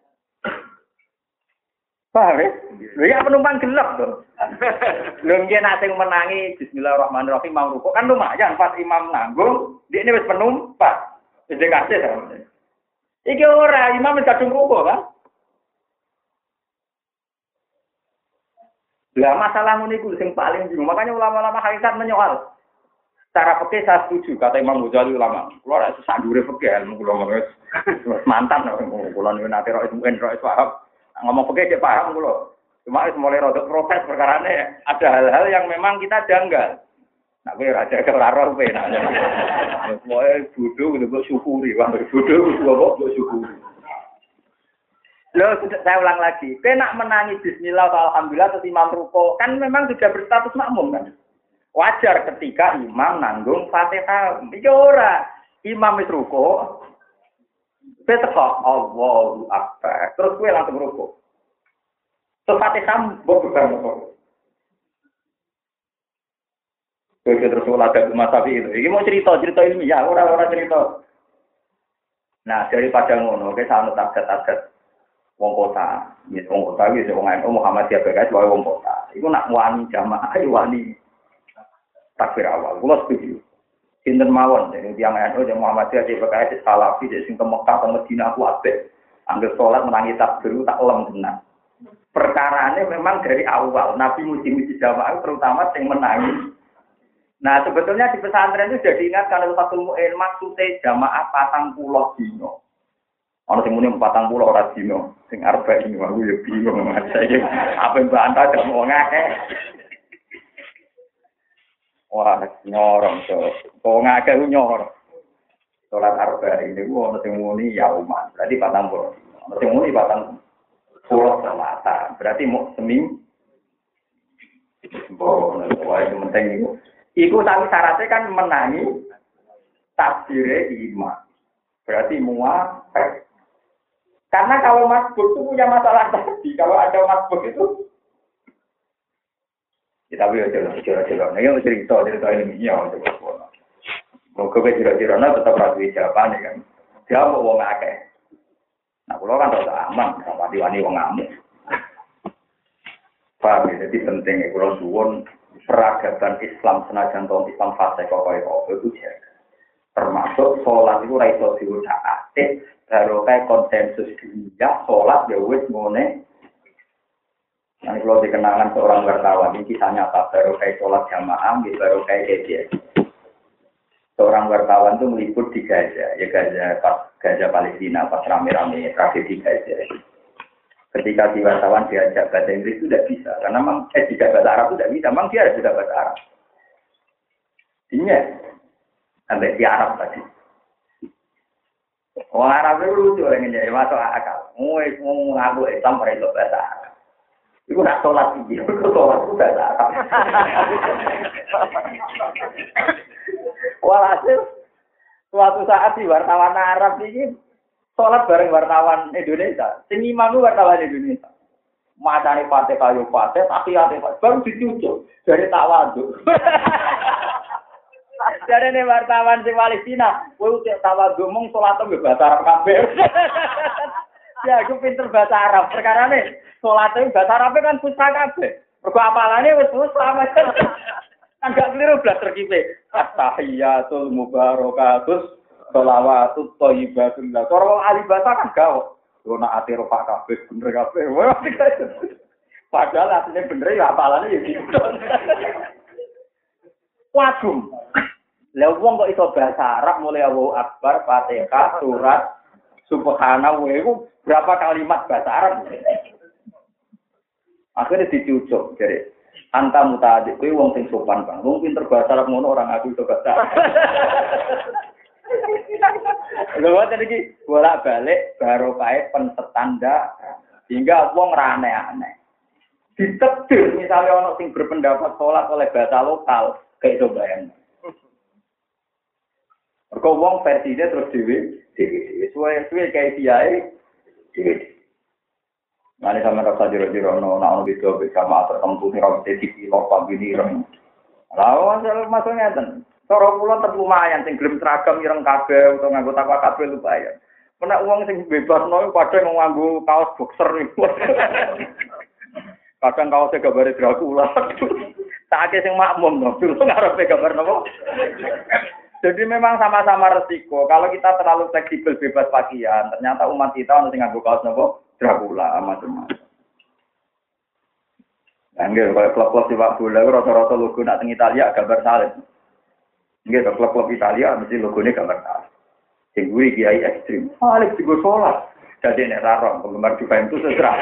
Paham ya? Lha ya penumpang gelap to. Lha nggih nek sing menangi bismillahirrahmanirrahim mau ruko kan lumayan pas imam nanggung dekne wis penumpang. Wis kasih ta. Iki ora imam wis kadung ruko kan? Lah masalah ngene iku sing paling bingung. Makanya ulama-ulama hakikat menyoal. Secara fikih saya setuju kata Imam Ghazali ulama. Kulo ora sak ndure fikih ilmu kulo wis mantan kulo niku nate ro mungkin ro paham. Ngomong fikih cek paham kulo. Cuma wis mulai rodok proses perkarane ada hal-hal yang memang kita janggal. Nak kowe ora jaga ora ro kowe nak. Moe bodho kok syukuri, wong bodho kok syukuri. Loh, saya ulang lagi. Kowe nak menangi bismillah atau alhamdulillah atau imam ruko, kan memang sudah berstatus makmum kan? Wajar ketika imam nanggung Fatihah. Iki ora. Imam wis ruko. Kowe teko Allahu Akbar. Terus kowe langsung ruko. Terus Fatihah mbok beban kok. Kowe terus ora ada Mas Safi itu. Iki mau cerita, cerita ilmiah, ora-ora cerita. Nah, daripada ngono, kowe sanut target-target wong kota, ya wong kota iki wong N U Muhammadiyah B K S wae wong kota. Iku nak wani jamaah ayo wani takbir awal. Kula setuju. Sinten mawon nek tiyang N U jeung Muhammadiyah B K S Salafi sing ke Mekah ke Madinah aku apik. Angger salat menangi takbir tak lem tenan. Perkarane memang dari awal Nabi muji-muji jamaah terutama sing menangi. Nah, sebetulnya di pesantren itu sudah diingatkan oleh Fathul Mu'in maksudnya jamaah patang puluh dino. Ana sing muni patang puluh ora dino, sing arba ini aku ya bingung mas saiki. Apa bantah gak mau ngakeh. Wah, nyorong to. Kok ngakeh ku nyorong. Salat arba ini ku ana sing muni ya umat. Berarti patang puluh. Ana sing muni patang puluh selatan. Berarti mau seming. Mbok wae penting iku. Iku tapi syaratnya kan menangi takbire imam. Berarti muat. Karena kalau masbuk itu punya masalah tadi. Kalau ada masbuk itu, kita boleh cerita-cerita. Nah, yang cerita cerita ini ya untuk apa? Mau ke cerita-cerita, tetap ragu jawabannya kan. Dia mau wong akeh. Nah, kalau kan rasa aman, sama diwani wong ngamuk. Paham ya? Jadi penting ya kalau suwon peradaban Islam senajan tahun Islam fase kok kok itu jaga. Termasuk sholat itu raiso diucapake baru kayak konsensus dunia sholat ya wis ngene. Nanti kalau dikenangan seorang wartawan ini kisahnya apa baru kayak sholat jamaah gitu baru kayak dia. Seorang wartawan itu meliput di Gaza, ya Gaza pas Gaza Palestina pas rame-rame tragedi Gaza. Ketika di wartawan diajak bahasa Inggris itu tidak bisa karena memang eh tidak bahasa Arab itu tidak bisa, memang dia sudah bahasa Arab. Ini sampai di Arab tadi. Wong Arab itu lucu orang ini, masuk akal. Ngomong ngomong ngaku Islam pada itu bahasa Arab. Iku nak sholat iki, iku sholat itu bahasa Arab. Walhasil suatu saat di wartawan Arab ini sholat bareng wartawan Indonesia. Sing imam wartawan Indonesia. Macane Fatihah yo Fatihah, tapi ate baru dicucuk dari tawadhu. Dari nih wartawan di Palestina, kowe utek tawadhu mung salat nggih bahasa Arab kabeh. Ya aku pinter bahasa Arab. Perkara nih salat bahasa Arab kan susah kabeh. Mergo apalane wis susah. Kan gak keliru blas terkipe. At-tahiyatul mubarakatus shalawatut thayyibatun. Cara wong ahli bahasa kan gawok. Yo nak ati ropak kabeh bener kabeh. Padahal asline bener ya apalane ya gitu. Waduh. Lah wong kok iso bahasa Arab mulai Allahu Akbar, Fatihah, surat Subhanallah itu berapa kalimat bahasa Arab? Akhirnya dicucuk jadi anta muta'addid kuwi wong sing sopan Bang. Wong pinter bahasa Arab ngono orang aku iso bahasa. Lha tadi iki bolak-balik barokah pensetanda sehingga wong ra aneh-aneh. Ditetir misalnya ono sing berpendapat sholat oleh bahasa lokal kayak iso bayang. Mergo wong versine terus dhewe, dhewe suwe-suwe kae diae dhewe. Mane sampe rasa jero-jero ono ana video sama tertentu sing ora dadi pilot pambini rem. Lah asal masuk ngeten. Cara kula tetep lumayan sing gelem seragam ireng kabeh utawa nganggo takwa kabeh lumayan. Nek wong sing bebasno padha nganggo kaos boxer iku. Kadang kaosnya gambar Dracula. Tak sing makmum no. Dulu ngarepe gambar napa? Jadi memang sama-sama resiko. Kalau kita terlalu fleksibel bebas pakaian, ternyata umat kita ono sing nganggo kaos napa? Dracula macam-macam. Nggih, kalau klub-klub sepak bola rata-rata logo nak teng Italia gambar salib. Nggih, klub-klub Italia mesti logone gambar salib. Sing kuwi kiai ekstrim. Salib digo salat. Jadi nek raro penggemar Juventus sesra.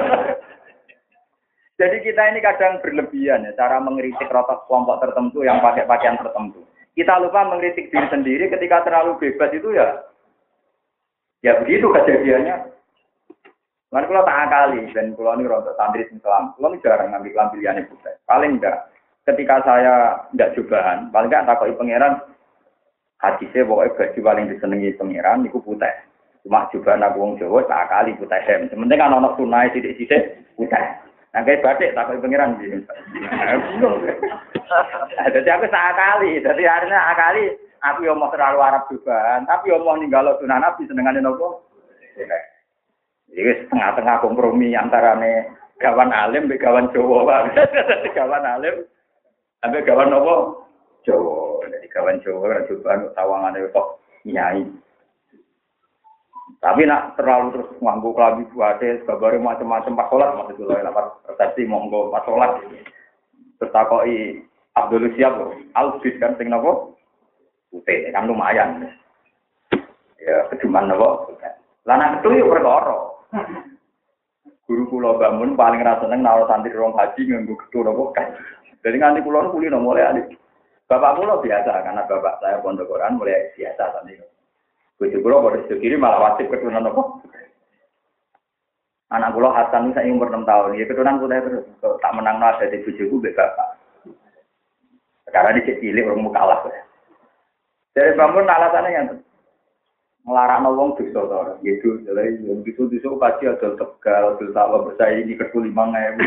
Jadi kita ini kadang berlebihan ya cara mengkritik rotok kelompok tertentu yang pakai pakaian tertentu. Kita lupa mengkritik diri sendiri ketika terlalu bebas itu ya, ya begitu kejadiannya. Kan kalau tak akali dan kalau ini rontok santri Islam, kalau ini jarang ngambil kelambiliannya putih. Paling enggak, ketika saya enggak jubahan, paling enggak takoi pangeran hadisnya pokoknya baju paling disenangi pangeran itu putih. Cuma jubahan aku wong Jawa tak akali putih hem. Sementing kan ono sunai sidik-sidik putih. Nah kayak batik takoi pangeran gitu. Jadi aku tak akali, jadi akhirnya akali aku yang mau terlalu Arab jubahan, tapi yang mau ninggalo sunan Nabi senengane nopo? Jadi setengah-tengah kompromi antara nih gawan alim, gawan Jawa, gawan alim, sampai gawan nopo Jawa. Jadi gawan Jawa kan jubahan tawangan itu nyai. Tapi nak terlalu terus nganggo klambi buate, kabare macam-macam pas salat maksud kula lha pas resepsi monggo pas salat. Terus takoki Abdul Siap lho, outfit kan sing napa? Putih kan lumayan. Ya keduman napa? Lah nek itu yo perkara. Guru kula bangun paling ra seneng naruh santri rong haji nganggo gedhe napa kan. Jadi nganti kula kulino mulai adik. Bapak kula biasa karena bapak saya pondok Quran mulai biasa santri. Bojo kula pada sejauh kiri malah wajib keturunan apa? Anak kula Hasan ini saya umur enam tahun, ya keturunan putih terus. Tak menang ada di bojoku mbek bapak. Sekarang di cilik orang mukalah. Dari bangun alasannya yang melarang wong dosa to. Gitu, jadi yang itu-itu pasti ada tegal, dosa apa bersaing di kertu lima ribu.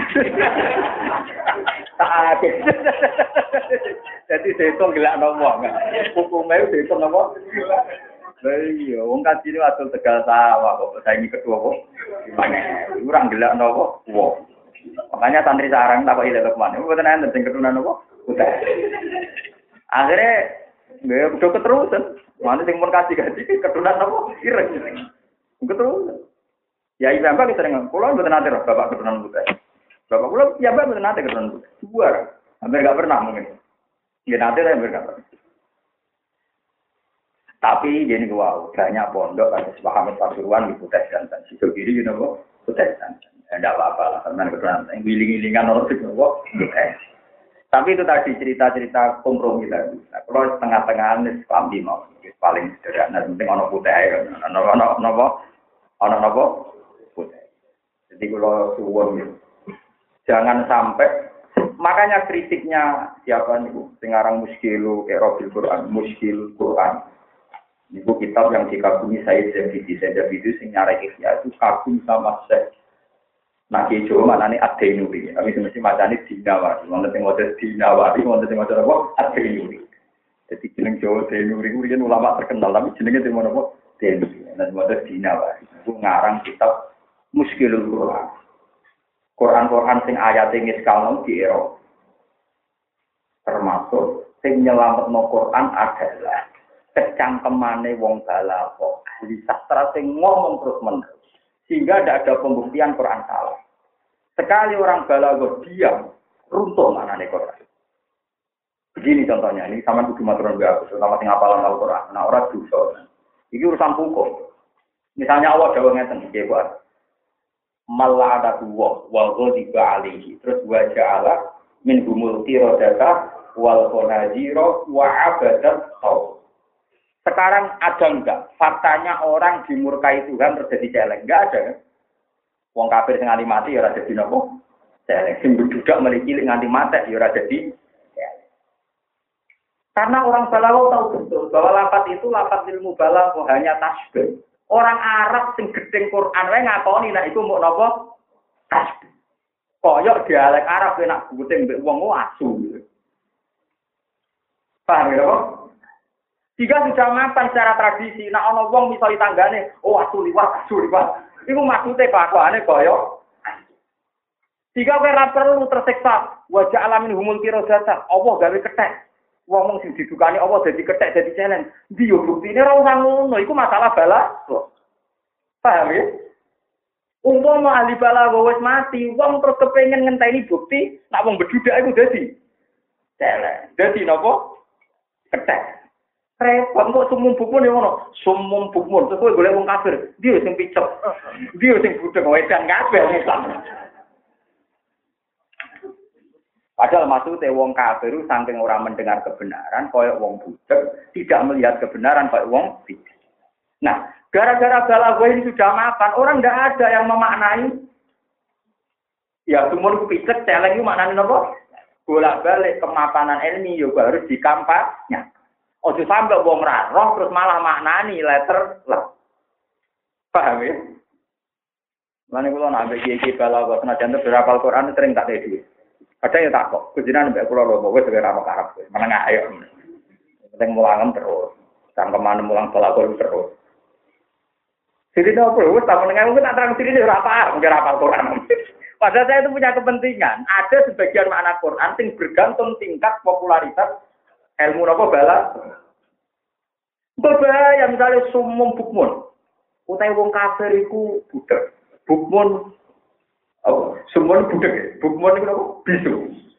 Tak ada. Jadi sehitung gelak ngomong. Hukumnya sehitung apa? Iya, wong kasih ini asal tegal sawah kok saya ini ketua kok. Gimana? Kurang gelak nopo. Wow. Makanya santri sarang tak kok ilet kemana? Bukan enten sing keturunan nopo. Udah. Akhirnya nggak udah keterusan. Mana sing pun kasih gaji keturunan nopo? Ireng. Keterusan. Ya ibu bapak kita dengan pulau betul nanti bapak keturunan buta. Bapak pulau ya bapak betul nanti keturunan buta. Dua. Hampir nggak pernah mungkin. Nggak nanti saya hampir nggak pernah. Tapi jadi gua banyak pondok ada Muhammad Pasuruan di Putih Jantan. Di kiri you know Putih Jantan. Enggak apa-apa lah karena kebetulan giling-gilingan orang itu kok. Tapi itu tadi cerita-cerita kompromi tadi. Nah, kalau setengah-tengah ini klambi mau, paling sederhana. Penting ono putih air, ono ono ono ono ono putih. Jadi kalau suwon gitu, jangan sampai. Makanya kritiknya siapa nih bu? Sekarang muskilu, erobil Quran, muskil Quran. Ini kitab yang dikagumi saya jadi saya jadi itu sing nyarek ya itu kagum sama saya. Nah, kijo mana nih ada nuri. Kami semesti macam ini dinawari. Mau nanti mau jadi dinawari, mau nanti mau jadi apa? Ada nuri. Jadi jeneng Jawa Denuri, kemudian ulama terkenal. Tapi jenengnya di mana apa? Denuri. Nanti mau jadi dinawari. Itu ngarang kitab Muskilul Quran. Quran-Quran sing ayat ini sekarang di Eropa. Termasuk sing nyelametno Quran adalah kecangkemane wong balaghah. Ahli sastra sing ngomong terus menerus. Sehingga tidak ada pembuktian Quran salah. Sekali orang balaghah diam, runtuh maknane Quran. Begini contohnya, ini sama kudu maturan mbek aku, sama sing hafalan Al-Qur'an. Nah, ora dosa. Iki urusan hukum. Misalnya Allah dawuh ngeten iki, Pak. Malla ada dua wa ghadiba alaihi. Terus wa ja'ala min humul qiradata wal qanajira wa abadat qaum. Sekarang ada enggak faktanya orang dimurkai Tuhan terjadi celeng? Enggak ada kan? Wong kafir sing nganti mati ya ora dadi napa? Celeng. Sing budak memiliki nganti mati ya ora dadi celeng. Karena orang balaghah tahu betul bahwa lafaz itu lafaz ilmu balaghah hanya tasbih. Orang Arab sing gedeng Quran wae ngakoni nek iku muk napa? Tasbih. Koyok dialek Arab nek gedeng mbek wong asu. Paham ya, Pak? Jika sudah mapan secara tradisi, nak ono wong misal tanggane, oh asu liwat, asu liwat. Iku maksude kelakuane kaya. Jika kowe ora perlu tersiksa, wajah alamin humul kirodata, Allah gawe kethek. Wong sing didukani Allah dadi kethek dadi celen. Ndi yo buktine ora usah ngono, iku masalah bala. Paham ya? Umpama ahli bala wis mati, wong terus kepengin ngenteni bukti, nak wong bedudak iku dadi celen. Dadi napa? Kethek. Repot kok sumum bukmun ya ngono. Sumum bukmun terus kowe golek wong kafir. Dia sing picek. Dia sing budek wedan kabeh Islam. Padahal maksudnya wong kafir saking ora mendengar kebenaran koyo wong budek, tidak melihat kebenaran koyo wong picek. Nah, gara-gara balaghah ini sudah mapan, orang enggak ada yang memaknai ya sumur ku picek celeng itu maknane napa? Bolak-balik kemapanan ilmi yo harus dikampanye. Ojo sampai wong ra roh terus malah maknani letter lah. Paham ya? Mane kula nak ambek iki balaghah senajan beberapa Al-Qur'an sering tak dhewe. Ada yang tak kok, kujinan mbak pulau lobo, wes segera mau karap, menengah ayo. Penting mulangan terus, sampai mana mulang pelakor terus. Jadi tahu perlu, wes tak menengah mungkin tak terang sini berapa, mungkin apa Quran. Padahal saya itu punya kepentingan. Ada sebagian makna Quran yang bergantung tingkat popularitas ilmu nopo bala. Berbahaya misalnya sumum bukmun, utai wong kafir iku budak, bukmun. Oh, semua budak ya. Bukmun itu apa? Bisu.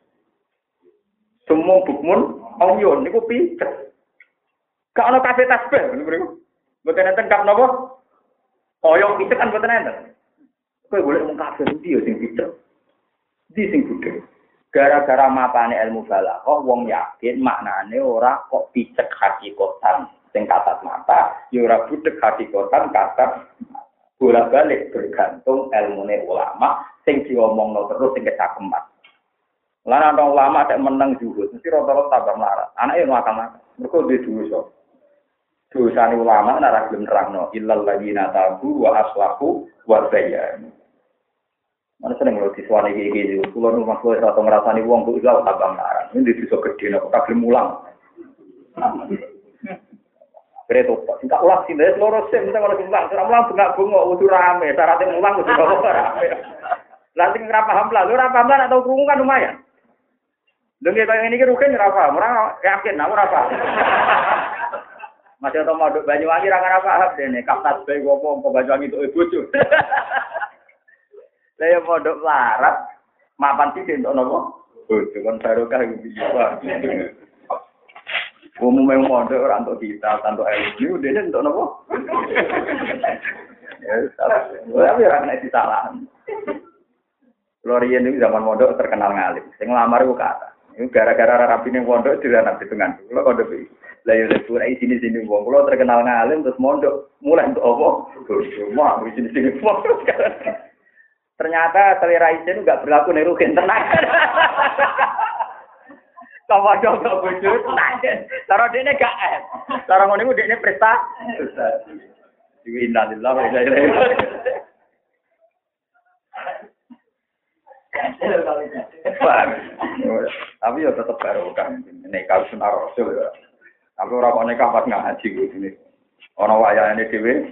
Semua bukmun, ongyon, itu picek. Gak ada kafe tasbih. Bukan enten kap apa? Oyong picek kan bukan enten. Kau boleh ngomong kafe, dia sing picek. Dia sing budak. Gara-gara mapane ilmu balaghah, wong yakin maknane ora kok picek hakikatan. Sing katat mata, ya ora budak hakikatan katat bolak-balik bergantung ilmune ulama sing diomongno terus sing kecakeman. Lan ana ulama tek meneng juhud, mesti rata-rata tambah melarat. Anake ngakal-ngakal. Mergo duwe dosa. Dosane ulama nek ora gelem nerangno illal ladina tabu wa aslahu wa bayyan. Mana seneng lho diswane iki iki kula nu maksud ora tau ngrasani wong kok iso tambah melarat. Ini dosa gedhe nek tak gelem mulang. Kreto, singkat ulang sih, dari seluruh sim, kita kalau bilang, seram ulang bengak bengok, udah rame, syaratnya ulang udah rame. Nanti nggak paham lah, lu paham lah atau kerungu kan lumayan. Dengar kayak ini rugen nggak paham, orang yakin, aku apa? Masih atau mau Banyuwangi rangan apa hab deh nih, kapnas bayi gopo, ke Banyuwangi itu ibu cuy. Saya mau dok larat, mapan sih untuk nopo, tuh kan baru kah bisa. Umum yang model orang untuk kita, untuk ilmu, dia untuk apa? Ya, salah. Tapi orang kena disalahan. Florian itu zaman model terkenal ngalim. Yang lamar itu kata, Ini gara-gara rapi ning pondok dilanang hitungan. Kula kode iki. Lah yo lek ora sini-sini wong kula terkenal ngalim terus mondok mulai untuk apa? Semua di sini-sini wong. Ternyata selera isin enggak berlaku ning rugen tenang. Sama dong gak bojo tenang. Cara dene gak es. Cara ngono iku dekne prestasi. Innalillahi wa inna ilaihi raji'un. Tapi ya tetap baru kan. Nekah sunnah Rasul ya. Tapi orang kok nekah pas ngaji gitu. Orang wayangnya dhewe.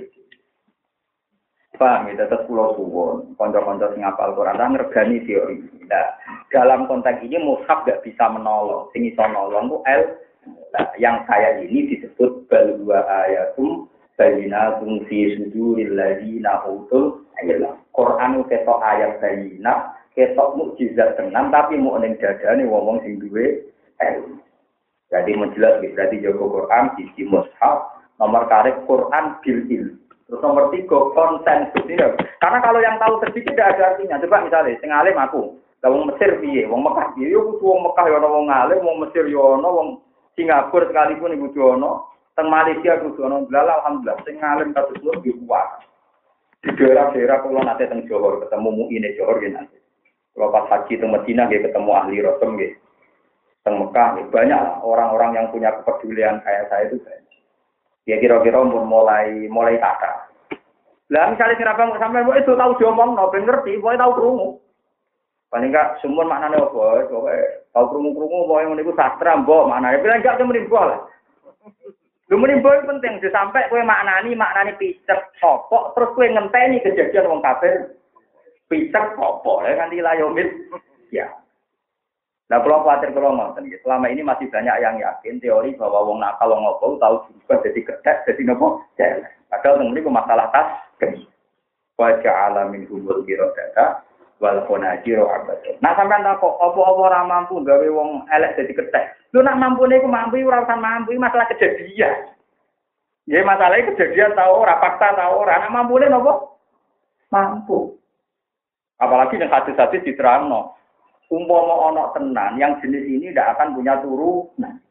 Paham ya, tetap pulau suwon. Konco-konco sing hafal Quran dan ngergani teori. Nah, dalam konteks ini mushaf gak bisa menolong. Sing iso nolong itu L. Nah, yang saya ini disebut bal wa ayatum bayyinatum fi suduril ladzina utul ilm. Quran itu ketok ayat bayyinah, ketok mukjizat tenan tapi mau ning dadane wong sing duwe ilmu. Jadi menjelas berarti jaga Quran sisi mushaf, nomor karek Quran bil ilm. Terus nomor tiga konsensus ini. Karena kalau yang tahu sedikit tidak ada artinya. Coba misalnya sing alim aku, wong Mesir piye, wong Mekah piye, yo kudu wong Mekah yo ana wong alim, wong Mesir yo ana, wong Singapura sekalipun iku kudu ana, teng Malaysia kudu ana. Alhamdulillah sing alim kados kula yo kuat. Di daerah-daerah kula nate teng Johor ketemu muine Johor nggih nanti. Kalau pas haji teng Madinah nggih ketemu ahli Rasul nggih. Teng Mekah nggih banyak lah orang-orang yang punya kepedulian kayak saya itu banyak. Ya kira-kira umur mulai mulai kata. Lah misalnya sing rabang sampean kok itu tahu diomongno ben ngerti, pokoke tahu krungu. Paling enggak sumun maknane apa? Pokoke tahu krungu-krungu pokoke ngene iku sastra mbok maknane. Bila enggak temen mbok lah. Lu menimbo penting sampai kowe maknani maknani picek sopok terus kowe ngenteni kejadian wong kafir picek opo ya kan dilayomit ya. Nah kalau khawatir kalau ngoten selama ini masih banyak yang yakin teori bahwa wong nakal wong opo tahu berubah jadi kedek jadi nopo jelek. Padahal ini masalah tas geni. Wa ja'ala min humul qiradata wal khonajiro abad. Nah sampean takok opo-opo ora mampu gawe wong elek jadi kedek. Lu nak mampune iku mampu ora usah mampu masalah kejadian. Ya masalahnya kejadian tahu ora fakta tahu ora nak mampune napa? Mampu. Apalagi dengan hadis-hadis diterangno. Umpama ana tenan yang jenis ini tidak akan punya turunan.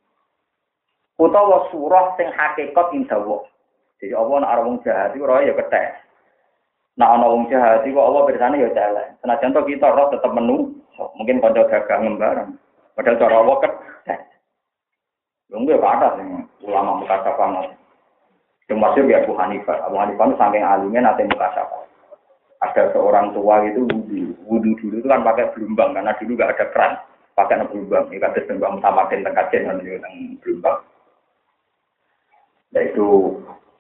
Utawa surah sing hakikat indawa. Jadi Allah nak wong jahat iku ora ya ketek. Nak ana wong jahat iku Allah bersane ya jalan. Senajan to kita roh tetep menu, mungkin kanca dagang ngembarang. Padahal cara Allah ketek. Lha nggih ada sing ulama mukasafah. Sing masyhur ya Abu Hanifah. Abu Hanifah itu saking alimnya nate mukasafah. Ada seorang tua itu wudu. Wudu dulu itu kan pakai belumbang karena dulu nggak ada keran. Pakai belumbang. Ini kata belumbang tamakin tengkajen kan yang belumbang. Yaitu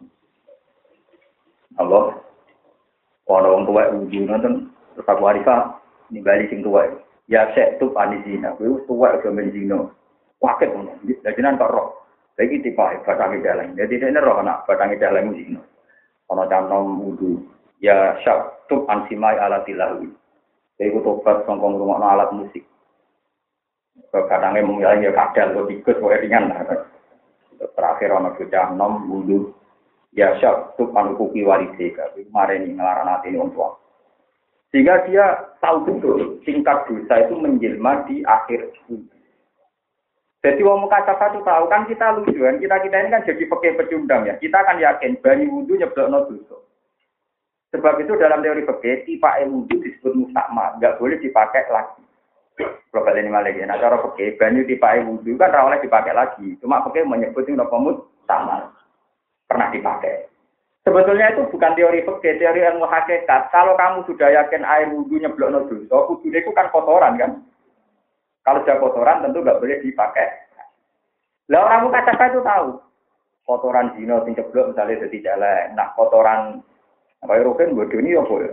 Allah. Orang tua wudu nonton terus Abu Hanifah nimbali sing tua. Ya sek tuh anisina. Kuwi tua udah menzino. Waket ngono. Jadi nang kok roh. Lagi tipe batangi dalang. Jadi ini roh anak batangi dalang zino. Ono canom wudu. Ya syak tub ansimai alatilawi. Iku tobat songkong rumah alat musik. Kadangnya mengilang ya kadal, kok tikus, kok ringan lah. Terakhir ada bocah nom wudu. Ya syak tub anukuki walisika. Kemarin ini ngelaran hati ini untuk. Sehingga dia tahu betul tingkat dosa itu menjelma di akhir wudu. Jadi wong mukasafah itu tahu kan kita lucuan, kita kita ini kan jadi pakai pecundang ya. Kita kan yakin bani wudu nyeblokno dosa. Sebab itu dalam teori fikih tipe wudu disebut mustakmal, enggak boleh dipakai lagi. Global ini malah ya. Nah cara fikih banyu tipe wudu kan ora oleh dipakai lagi. Cuma fikih menyebut itu apa mustakmal. Pernah dipakai. Sebetulnya itu bukan teori fikih, teori ilmu hakikat. Kalau kamu sudah yakin air wudu nyeblokno dosa, wudune itu kan kotoran kan. Kalau sudah kotoran tentu enggak boleh dipakai. Lah orang mukasafah itu tahu. Kotoran zina sing ceblok misalnya dadi jelek. Nah kotoran apa Ruben bodoh ini apa ya?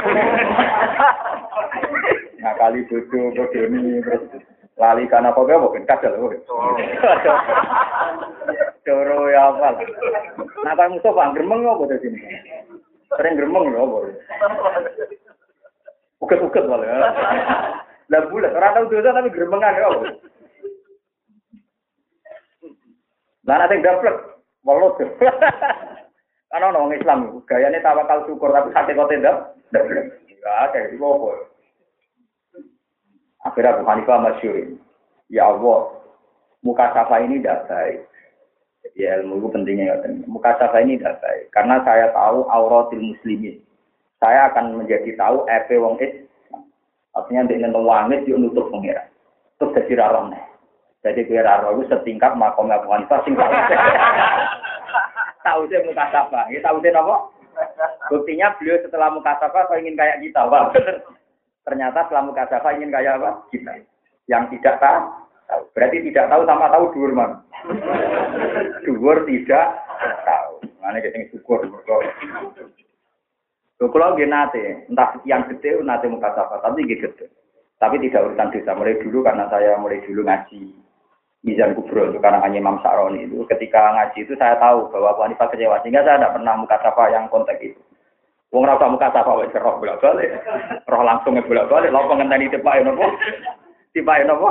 Nah kali bodoh bodoh ini lali karena apa ya bukan kadal loh. Coro ya apa? Nah kalau musuh bang geremeng apa di sini? Sering geremeng loh apa? Uket-uket malah. Lah bulat orang tahu dosa tapi geremengan ya apa? Lah nanti gaplek, walot. Karena orang Islam, gayanya tawakal syukur, tapi hati kau tidak, tidak. Ya, kayak itu apa? Akhirnya Abu Hanifah masyhur. Ya Allah, mukasafah ini tidak baik. Ya ilmu itu pentingnya. Mukasafah ini tidak baik. Karena saya tahu auratil muslimin. Saya akan menjadi tahu F wong is. Artinya dia ingin wangit, dia nutup pengira. Terus jadi rarone. Jadi kira raro itu setingkat makom Abu Hanifah sing tahu. Tahu saya mukasafah. Ya tahu saya apa? Buktinya beliau setelah mukasafah kok ingin kayak kita. Wah, bener. Ternyata setelah mukasafah ingin kayak apa? Kita. Yang tidak tahu. Berarti tidak tahu sama tahu dhuwur, Man. Dhuwur tidak tahu. Mane kita syukur mergo. Kalau nggih nate, entah yang gede nate mukasafah, tapi nggih gede. Tapi tidak urusan dosa. Mulai dulu karena saya mulai dulu ngaji Mizan Kubro itu karena hanya Imam Sa'roni itu. Ketika ngaji itu saya tahu bahwa Abu Hanifah kecewa sehingga saya tidak pernah mukasafah yang konteks itu. Wong ora usah mukasafah wis roh bolak-balik. Roh langsung bolak-balik, lha kok ngenteni tipake napa? Tipake napa?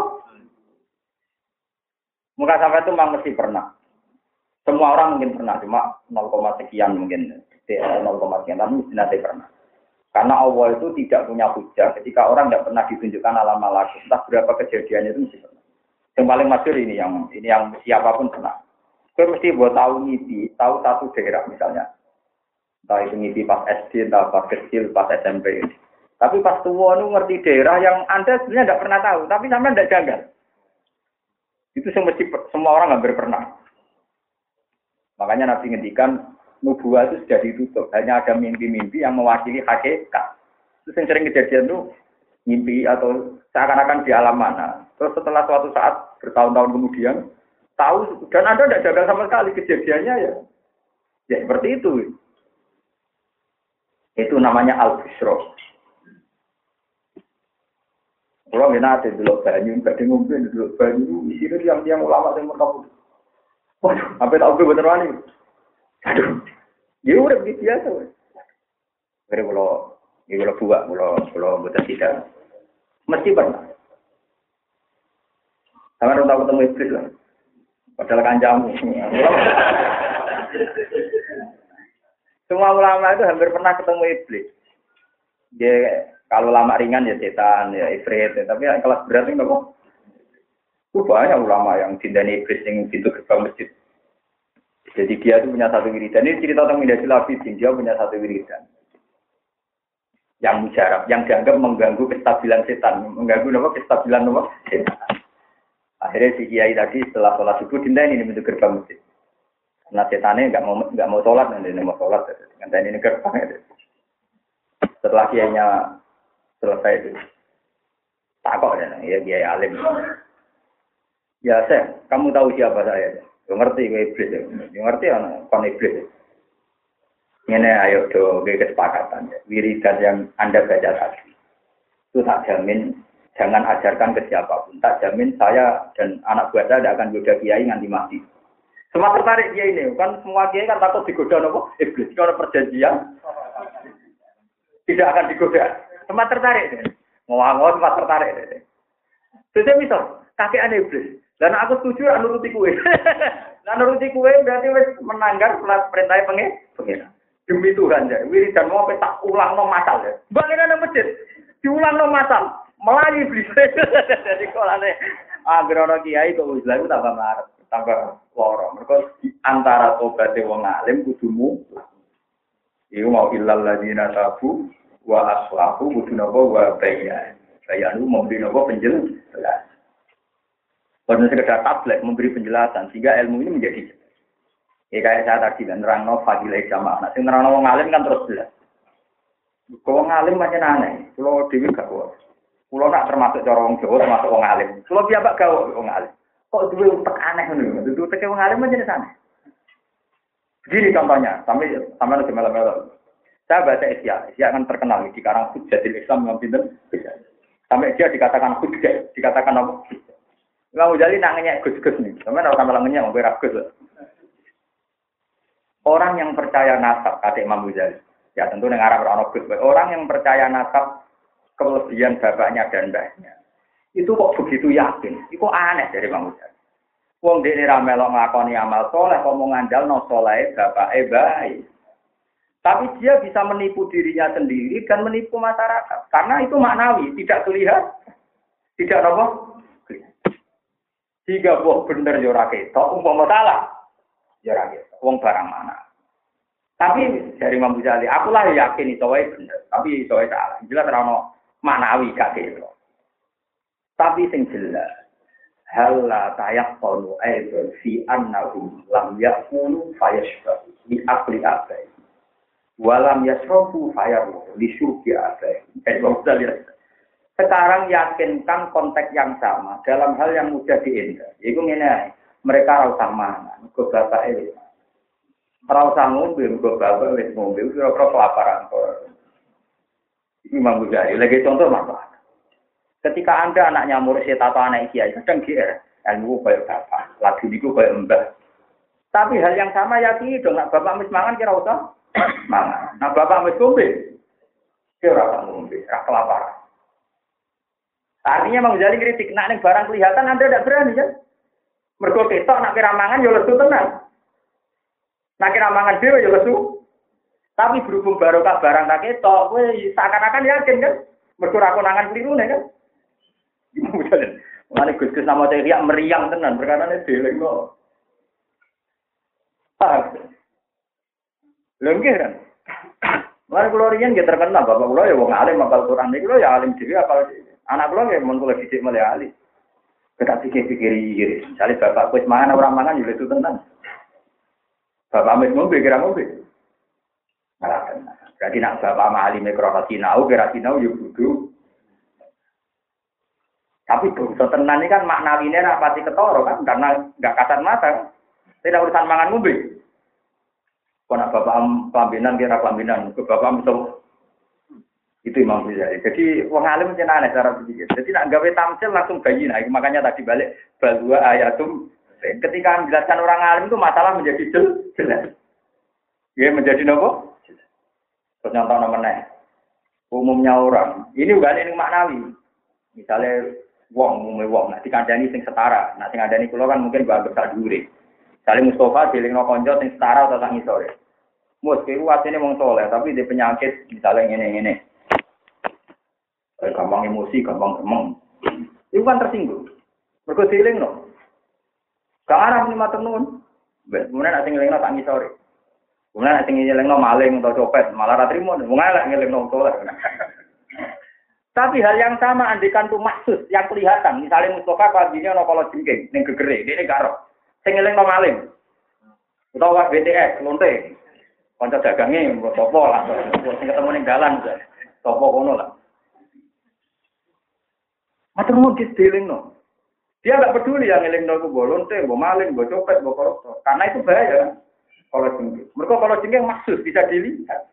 Mukasafah itu memang mesti pernah. Semua orang mungkin pernah, cuma nol, sekian mungkin. nol, sekian, tapi mesti nanti pernah. Karena Allah itu tidak punya hujah. Ketika orang tidak pernah ditunjukkan alam lagi, entah berapa kejadiannya itu mesti pernah. Yang paling masyhur ini yang ini yang siapapun pernah. Kita mesti buat tahu ngisi, tahu satu daerah misalnya. Entah itu ngisi pas S D, entah pas kecil, pas S M P. Tapi pas tua itu ngerti daerah yang Anda sebenarnya tidak pernah tahu, tapi sampai tidak janggal. Itu semesti semua orang hampir pernah. Makanya Nabi ngendikan nubuah itu sudah ditutup, hanya ada mimpi-mimpi yang mewakili hakikat. Terus yang sering kejadian itu mimpi atau seakan-akan di alam mana. Terus setelah suatu saat bertahun-tahun kemudian tahu dan Anda tidak jaga sama sekali kejadiannya ya. Ya seperti itu. Itu namanya al-busra. Kalau nggak ada dulu banyu, nggak ada ngombe dulu banyu, isinya yang yang ulama yang merkabut. Waduh, apa tahu gue bener wani? Aduh, dia udah begitu biasa. Jadi kalau ini kalau buat, kalau kalau buat tidak, mesti pernah. Sama orang tahu ketemu iblis lah. Padahal kancamu. Semua ulama itu hampir pernah ketemu iblis. Dia kalau lama ringan ya setan, ya ifrit, ya. Tapi yang kelas berat ini kok. Itu banyak ulama yang dindani iblis yang pintu gerbang masjid. Jadi dia itu punya satu wiridan. Ini cerita tentang Mindasil Abidin. Dia punya satu wiridan. Yang mujarab, yang dianggap mengganggu kestabilan setan. Mengganggu apa? Kestabilan apa? Setan. Akhirnya si kiai tadi setelah sholat subuh dindani ini pintu gerbang masjid. Karena setannya nggak mau nggak mau sholat, nanti mau sholat. Dengan ini gerbang itu. Setelah kiainya selesai itu, takok ya, ya kiai alim. Ya saya, kamu tahu siapa saya? Yang ngerti ke iblis ya, yang ngerti ya, kon iblis. Ini ayo do kesepakatan ya. Wiridan yang Anda baca tadi, itu tak jamin, jangan ajarkan ke siapapun. Tak jamin saya dan anak buah saya tidak akan goda kiai nganti mati. Semua tertarik kiai ini, kan semua kiai kan takut digoda nopo iblis. Kalau perjanjian tidak akan digoda. Semua tertarik deh. Ngomong-ngomong semua tertarik deh. Jadi misal kakek aneh iblis. Dan aku setuju anu nuruti kue. Nah nuruti kue berarti wis menanggar perintah pengen pengen. Demi Tuhan ya. Wiridan mau tak ulang no masal ya. Balik nang masjid. Diulang no masal. Melayu iblis. Jadi kolane agrono kiai kok wis lha iku tambah marep, tambah lara. Mergo antara tobat wong alim kudumu. Iku mau illal ladina tabu wa aslahu kudu napa wa bayan. Bayanu memberi napa penjelasan. Bukan sekedar tablet memberi penjelasan sehingga ilmu ini menjadi ya kayak saya tadi kan nerangno fadilah jamaah. Nah, sing nerangno wong alim kan terus jelas. Kok wong alim macam aneh. Kulo dhewe gak kuat. Kulo nak termasuk cara wong Jawa termasuk wong alim. Kulo piyambak gawe wong alim. Kok duwe utek aneh ngono. Duwe utek wong alim macam aneh. Begini contohnya, sampai sampai lagi malam-malam. Saya baca Isya, Isya kan terkenal di karang Hujjatul Islam yang pinter. Sampai dia dikatakan hujjah, dikatakan apa? Imam Ghazali nangnya gus-gus nih. Sampai orang malangnya mau beragus. Orang yang percaya nasab, kata Imam Ghazali. Ya tentu dengan Arab orang gus. Orang yang percaya nasab kelebihan bapaknya dan mbahnya. Itu kok begitu yakin? Itu aneh dari Imam Ghazali. Wong dene ra melok nglakoni amal saleh kok mau ngandalno saleh bapake bae. Tapi dia bisa menipu dirinya sendiri dan menipu masyarakat karena itu maknawi, tidak kelihatan. Tidak apa? Jika buah bener ya ora ketok, umpama salah ya ora ketok. Wong barang mana. Tapi dari Imam Ghazali, aku lah yakin itu wae bener, tapi itu wae salah. Jelas ora ono manawi gak ketok. Tapi sing jelas hal la tayaqqulu aidan fi annahu lam yakunu fayashfa bi aqli abai. Walam yasrofu fayaru li syurki abai. Sekarang yakinkan konteks yang sama dalam hal yang mudah diindah. Iku ngene, mereka ora usah mangan, go bapak wis. Ora usah ngombe, go bapak wis ngombe, kira-kira kelaparan kok. Iki Imam Ghazali, lagi contoh masalah. Ketika Anda anaknya mursyid atau anak kiai, kadang G R, ilmu koyo bapak, lagi niku koyo mbah. Tapi hal yang sama yakini dong, nak bapak wis mangan kira usah mangan. Nah bapak wis ngombe, kira usah ngombe, ra kelaparan. Artinya Imam Ghazali kritik, nak ning barang kelihatan Anda tidak berani kan? Mergo ketok nak kira mangan ya lesu tenan. Nak kira mangan dhewe ya lesu. Tapi berhubung barokah barang tak ketok, kowe seakan-akan yakin kan? Mergo ra konangan klirune kan? Imam Ghazali. Mulane Gus-gus nama riak meriang tenan perkarane deleng kok. Ah. Lha nggih kan? Mulane kula riyen nggih terkenal bapak kula ya wong alim apal Quran niku lho ya alim dhewe apal dhewe. Anak kula nggih mun kula dhisik mulai alim. Kita pikir-pikir, misalnya bapak wis mangan orang mangan ya itu tenan. Bapak wis ngombe kira ngombe. Malah tenan. Berarti nak bapak malime krana sinau, kira sinau ya kudu. Tapi bangsa tenan ini kan maknawine ra pati ketara kan karena enggak kasat mata. Tidak urusan mangan ngombe. Kok nak bapak kelambinan kira kelambinan, ke bapak mesti itu Imam Ghazali. Jadi wong alim mesti aneh cara berpikir. Jadi nak gawe tamsil langsung bayi. Nah, makanya tadi balik bahwa ayatum ketika menjelaskan orang alim itu masalah menjadi jelas. Ya menjadi nopo? Terus contoh nomornya. Umumnya orang, ini bukan ini maknawi. Misalnya wong umumnya wong, nah dikandani sing setara. Nah sing andani kula kan mungkin bagus tak dhuwure. Misalnya Mustafa dilingno kanca sing setara atau tak ngisore. Mus kiku asline wong soleh tapi dia penyakit misalnya ngene-ngene. Gampang emosi, gampang gemeng. Itu kan tersinggung. Mergo dieling no. Gak arah muni matur nuwun. Kemudian nek sing ngelingno tak ngisore. Kemudian nek sing ngelingno maling atau copet, malah ra trimo. Wong elek ngelingno soleh. Tapi hal yang sama andikan tuh maksud yang kelihatan. Misalnya Mustafa kabine ana kala jengking ning gegere, dene karo. Sing ngelingno maling. Utawa B T S, lonte. Kanca dagange sapa lah. Sing ketemu ning dalan. Sapa kono lah. Matur nuwun ki delingno. Dia enggak peduli yang ngelingno ku bolonte, mbok maling, mbok copet, mbok koruptor. Karena itu bahaya. Kalau jengking. Mergo kalau jengking maksud bisa dilihat.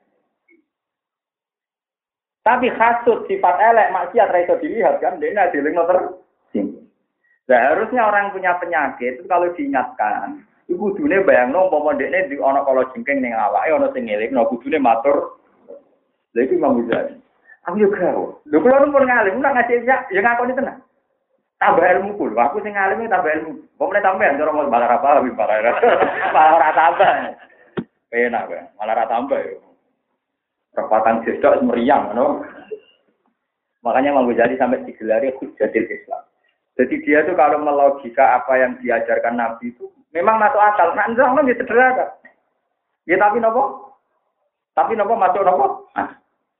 Tapi hasud sifat elek maksiat ra iso dilihat kan, dene delingno terus. Nah, harusnya orang punya penyakit itu kalau diingatkan, itu kudune bayangno umpama dekne di ana kala jengking ning awake ana sing ngelingno kudune matur. Lha iku Imam Ghazali. Aku yo gawe. Lho kula pun ngalim, nak ngaji ya ngakoni tenan. Tambah ilmu kul, aku sing ngalim tambah ilmu. Pomene sampean cara mau balar apa lebih balar. Malah ora tambah. Enak kan, malah ora tambah yo. Perpatan jedok meriang ngono. Makanya Imam Ghazali sampai digelari Hujjatul Islam. Jadi dia tuh kalau melogika apa yang diajarkan Nabi itu memang masuk akal. Nah, enggak memang sederhana. Ya tapi nopo? Tapi nopo masuk nopo? Ah.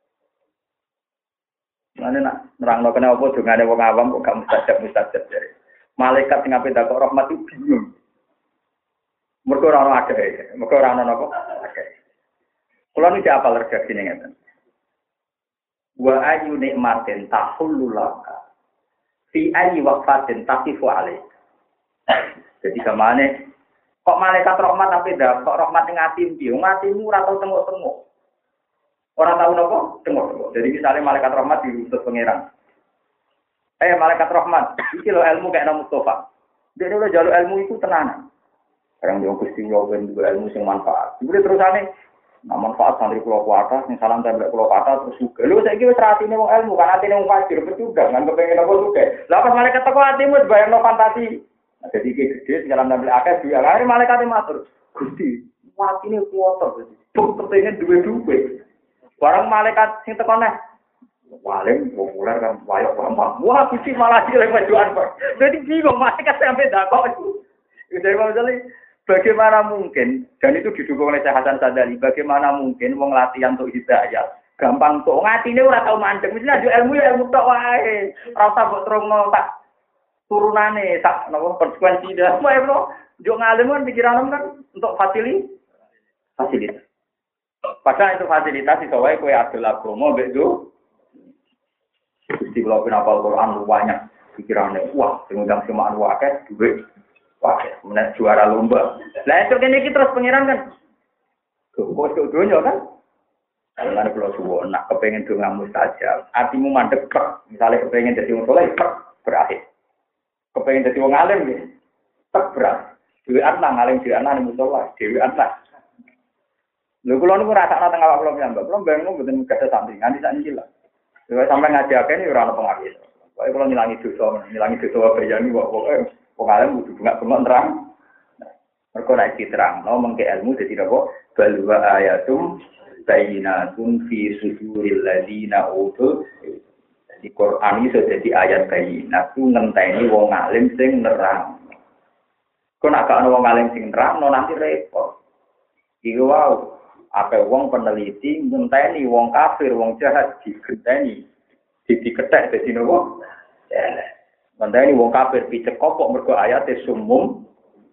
Mane nak nerangno kena apa dongane wong awam kok gak mustajab mustajab jare. Malaikat sing ape dakok rahmat itu bingung. Mergo ora ono akeh, mergo ora ono napa? Akeh. Kula niki apal redaksine ngeten. Wa ayu nikmatin tahullu laka. Fi ayi waqfatin taqifu alaik. Jadi kamane kok malaikat rahmat ape dakok rahmat ning ati ndi? Wong atimu ora tau tengok-tengok. Orang tahu nopo, tengok. Jadi misalnya malaikat rahmat diutus pangeran. Eh malaikat rahmat, iki lo ilmu kayak nama Mustafa. Dia udah jalur ilmu itu tenanan. Sekarang dia gusti nyobain juga ilmu yang manfaat. Jadi terusannya, nah manfaat santri pulau kuata, yang salam tablet pulau kuata terus juga. Lu saya kira serati nih mau ilmu, karena hati nih mau fajir betul nggak kepengen apa juga. Lapas malaikat teko hatimu bayang no fantasi. Nah, jadi kayak gede, salam tablet akeh dua kali malaikat matur. Gusti, hati ini kuota. Tuh kepengen dua dua. Barang malaikat sing teko neh. Walim populer kan wayo gampang. Wah, kuci malah cilik wedoan kok. Jadi bingung mereka sampai dakok itu. Jadi maksudnya bagaimana mungkin dan itu didukung oleh Syekh Hasan Sadali, bagaimana mungkin wong latihan untuk hidayah gampang tok ngatine ora tau mandeg. Mesti aja ilmu ya ilmu tok wae. Ora usah mbok terungno tak turunane tak napa konsekuensi dah. Wae bro, yo ngalim kan pikiran kan untuk fasili fasilitas. Padahal itu fasilitas iso wae kowe adol agama mbek yo Gusti kula pinapal Quran lu banyak pikirane wah sing undang semaan wae duwe wah menek juara lomba. Lah itu kene iki terus pengiran kan. Kok kok donya kan. Lan kula suwun nak kepengin donga mustajab, atimu mandeg tek, misale kepengin dadi wong saleh tek berakhir. Kepengin dadi wong alim nggih tek berakhir. Dhewean nang alim dhewean nang musala, dhewean lah. Lho kula niku rasakno teng awak kula piyambak, kula mbayangno mboten gadah sampingan iki sakniki lho. Lha sampe ngajake ora ana pengaruh. Pokoke kula ngilangi dosa, ngilangi dosa bayani kok pokoke wong alim kudu bengak-bengok terang. Mergo nek diterangno mengke ilmu dadi apa? Balwa ayatum bayinatun fi suduril ladina utul. Di Quran iki dadi ayat bayinat ku ngenteni wong alim sing nerang. Kok nek ana wong alim sing nerangno nanti repot. Iku wae apa wong peneliti ngenteni wong kafir, wong jahat digenteni, dikethek dadi nopo? Ya. Ngenteni wong kafir picek kopok mergo ayate sumum.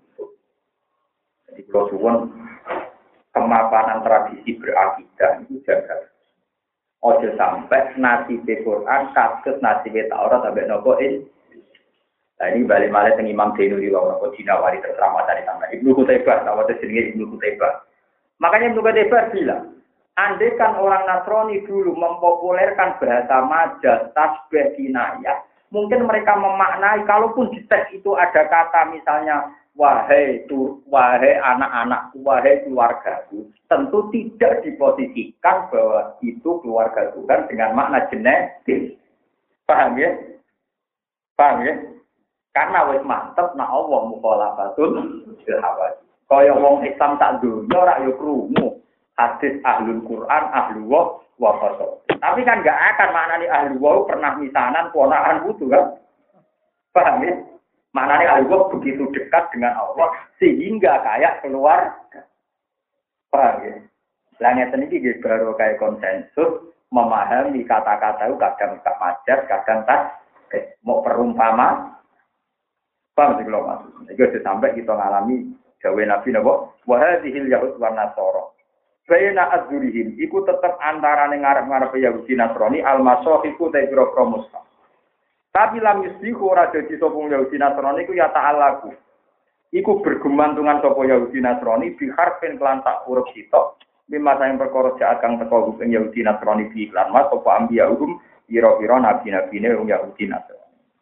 Jadi kalau suwon kemapanan tradisi berakidah itu jaga. Ojo sampai nasib Quran kasus nasib Taurat sampai nopo ini. Nah ini balik balik dengan Imam Zainuri wong nopo Cina wali terutama dari sana. Ibnu Qutaibah, nama terjenenge Ibnu Qutaibah. Makanya Ibnu Qutaibah bilang, andai kan orang Nasrani dulu mempopulerkan bahasa majaz, tasbih, kinayah, mungkin mereka memaknai, kalaupun di teks itu ada kata misalnya, wahai tur, wahai anak-anakku, wahai keluargaku, tentu tidak diposisikan bahwa itu keluarga Tuhan dengan makna genetik. Paham ya? Paham ya? Karena wis mantep nak Allah mukhalafatun bil hawadits. Kaya wong Islam tak dunya ora yo krungu hadis ahlul Quran, ahlullah wa qasas. Tapi kan enggak akan maknani ahlullah pernah misanan ponakan putu kan. Paham ya? Maknanya ahlullah begitu dekat dengan Allah sehingga kayak keluar. Paham ya? Lah ngeten iki nggih baru kayak konsensus memahami kata-kata itu kadang tak majar, kadang tak eh, mau perumpama. Paham sih kalau maksud. Iki sampai kita ngalami Jawa Nabi napa wa hadhil yahud wa nasara bayna adzurihim iku tetep antarane ngarep-ngarep Yahudi Nasrani al-masahiku ta pira-pira mushaf tapi lam yusbihu ora dadi sapa Yahudi Nasrani iku ya ta'alaku iku bergemantungan sapa Yahudi Nasrani bi harfin kelan tak huruf sitok mimma sing perkara jaat kang teko ing Yahudi Nasrani bi iklan mas sapa ambiya hukum pira-pira nabi-nabine wong Yahudi Nasrani.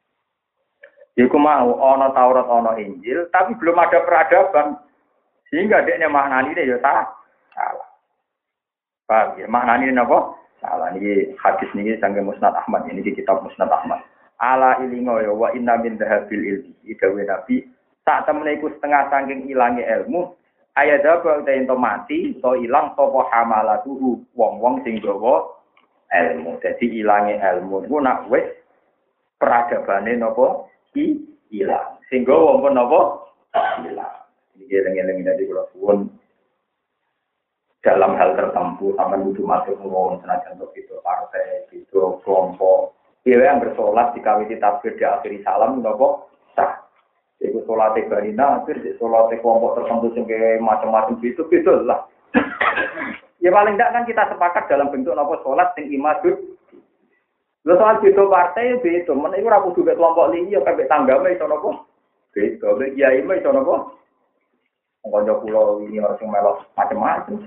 Iku mau ana Taurat ana Injil tapi belum ada peradaban sehingga dekne maknane ya salah. Salah. Paham ya maknane napa? Salah niki hadis niki sange Musnad Ahmad ini di kitab Musnad Ahmad. Ala ilingo ya wa inna min dhahabil ilmi dawe Nabi sak temene iku setengah saking ilange ilmu ayat apa ento mati to ilang sapa hamalatuhu wong-wong sing gawa ilmu. Dadi ilange ilmu ku nak wis peradabane napa hilang. Sehingga wong pun apa? Hilang. Ini eling-eling dari kula suwun dalam hal tertentu sampean kudu matur nuwun senajan untuk itu partai, itu kelompok. Dhewe yang bersolat dikawiti takbir di akhir salam napa? Sah. Iku salate barina akhir di salate kelompok tertentu sing macam-macam itu betul lah. Ya paling tidak kan kita sepakat dalam bentuk napa salat sing imadud. Lha soal beda partai beda, men iku ora kudu mek kelompok liya kabeh tanggane iso napa? Beda, mek kiai mah iso napa? Kanca kula ini ora sing melok macam-macam.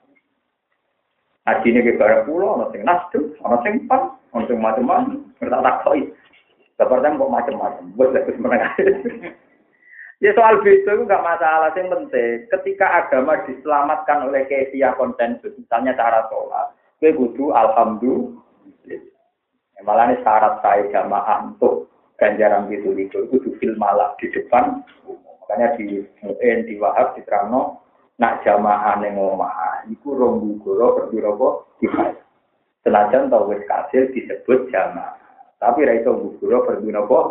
Ajine ke bareng kula ana sing nasdem, ana sing pan, ana sing macam-macam. Ora tak takoki. Seperti kok macam-macam. Wes wis meneng. Ya soal beda itu enggak masalah, yang penting ketika agama diselamatkan oleh kefiah konsensus, misalnya cara sholat, kowe kudu alhamdulillah. Malah ini syarat saya jamaah untuk ganjaran itu itu itu fil malah di depan, makanya di Mu'in, di Wahab, di Terangno, nak jamaah yang ngomah, itu rombu goro berbiro kok dibayar. Senajan tau wis kasil disebut jamaah. Tapi ra iso guguro berguna apa?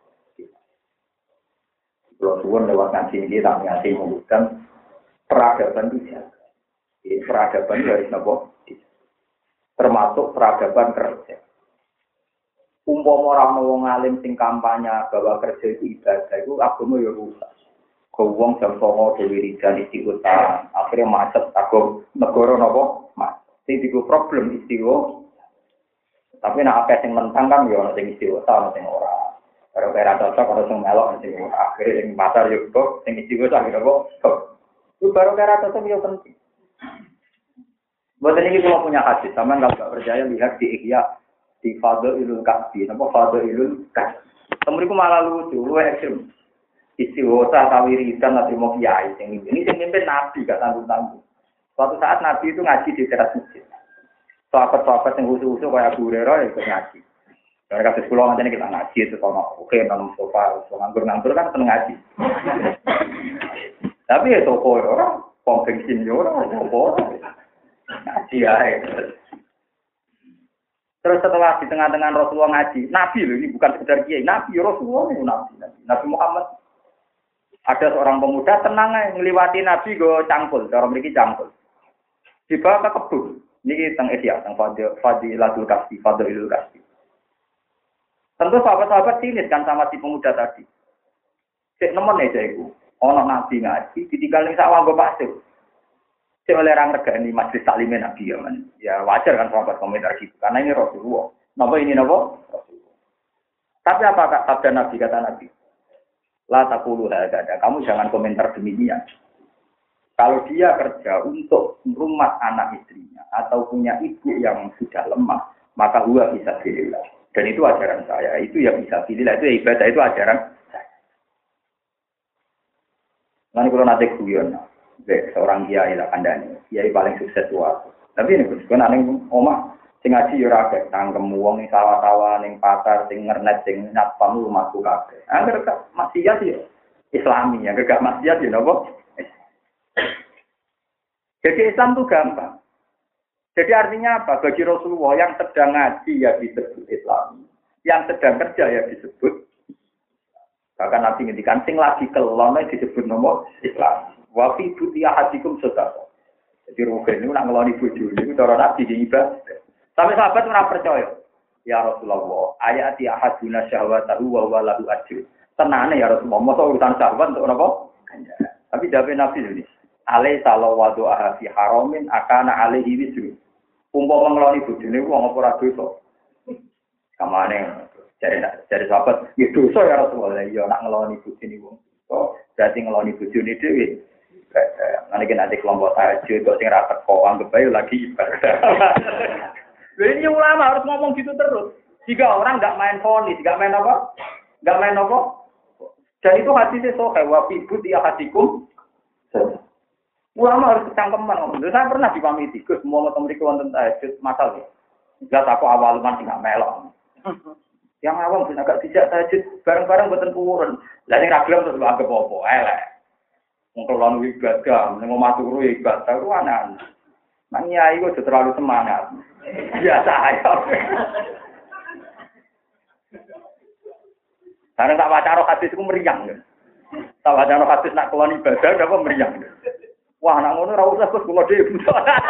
Kalau suwon lewat ngaji ini tak ngaji mengundang peradaban itu jaga. Jadi peradaban itu harus apa? Termasuk peradaban kerja. Umpama orang wong alim sing kampanye bahwa kerja itu ibadah itu agama ya rusak. Kau wong jam songo wiridan istighosah, akhirnya macet agama negara napa? Mas. Sing digo problem istighosah. Tapi nek akeh sing mentang kan ya ana sing istighosah ana sing ora. Kalau kira cocok ana sing melok sing akhirnya sing pasar yo kok sing istighosah gitu kok. Itu baru kira cocok yo penting. Buat ini kita punya hadis, sama kalau nggak percaya lihat di Ihya di Fadhailul Kahfi, nama Fadhailul Kahfi. Temenku malah lucu, lu ekstrim. Istighosah tawiridan nanti mau kiai, yang ini yang mimpin Nabi gak tanggung-tanggung. Suatu saat Nabi itu ngaji di teras masjid. Sahabat-sahabat yang khusus-khusus kayak Abu Hurairah ikut ngaji. Dari kasus pulau nanti kita ngaji itu sama oke nanam sofa, nganggur-nganggur kan seneng ngaji. Tapi ya toko orang, pengkengsin orang, toko orang. Ngaji ya. Terus setelah di tengah-tengah Rasulullah ngaji, Nabi loh ini bukan sekedar kiai, Nabi Rasulullah itu Nabi, Nabi, Nabi Muhammad. Ada seorang pemuda tenang aja ngliwati Nabi go cangkul, cara mriki cangkul. Dibawa ke kebun. Niki teng Ihya, teng Fadilatul Kahfi, Fadhailul Kahfi. Tentu sahabat-sahabat sinis kan sama si pemuda tadi. Cek nemen aja iku. Ono Nabi ngaji, ditinggal ning sawah go pasir. Cek oleh orang regani majlis taklim Nabi ya man. Ya wajar kan sahabat komentar gitu. Karena ini Rasulullah. Napa ini napa? Rasulullah. Tapi apa sabda Nabi kata Nabi? La taqulu hadza. Kamu jangan komentar demikian. Kalau dia kerja untuk rumah anak istrinya atau punya ibu yang sudah lemah, maka huwa bisa bilillah. Dan itu ajaran saya. Itu yang bisa bilillah. Itu ibadah, itu ajaran saya. Nanti kalau nanti guyon, seorang kiai lah kandani. Kiai paling sukses suatu. Tapi ini kan aneh omah. Sing ngaji yo ra akeh, tangkem wong ning sawah-sawah ning pasar sing ngernet sing nyatpam rumahku kabeh. Angger gak maksiat yo Islami, angger gak maksiat yo napa? Jadi Islam itu gampang. Jadi artinya apa? Bagi Rasulullah yang sedang ngaji ya disebut Islami, yang sedang kerja ya disebut. Bahkan Nabi ngendikan sing lagi kelon disebut nomor Islam. Wa fi buti ahadikum sedekah. Jadi rugen niku nak ngeloni bojo niku cara Nabi ibadah. Sampai sahabat ora percaya. Ya Rasulullah, ayati ahaduna syahwatahu wa huwa lahu ajr. Tenane ya Rasulullah, mosok urusan syahwat untuk napa? Tapi jawab Nabi ini. Alai salawatu ahfi haramin akana alaihi wisru. Umpama ngeloni bojone wong apa ora dosa. Kamane jare jare sahabat, ya dosa ya Rasulullah. Ya nak ngeloni bojone wong. Oh, berarti ngeloni bojone dhewe. Nanti nanti kelompok tahajud kok sing ra teko anggap ae lagi ibadah. Ini ulama harus ngomong gitu terus. Jika orang nggak main fonis, nggak main apa? Nggak main apa? Dan itu hadisnya sokai wafibut ya hatikum. Ulama harus kecangkeman ngomong. Saya pernah dipamiti, Gus, mau ketemu di konten tahajud masalah. Enggak aku awal man nggak melok. Yang awam pun agak tidak tahajud bareng-bareng buatan purun. Lalu ragam terus agak popo, elek. Mengkelon ibadah, ngomong turu ibadah, itu aneh. Nang nyai kok terlalu semangat. Biasa aja. Karena tak wacara hadis itu meriang. Tak wacara hadis nak kelon ibadah apa meriang. Wah, nak ngono ora usah Gus kula dhewe.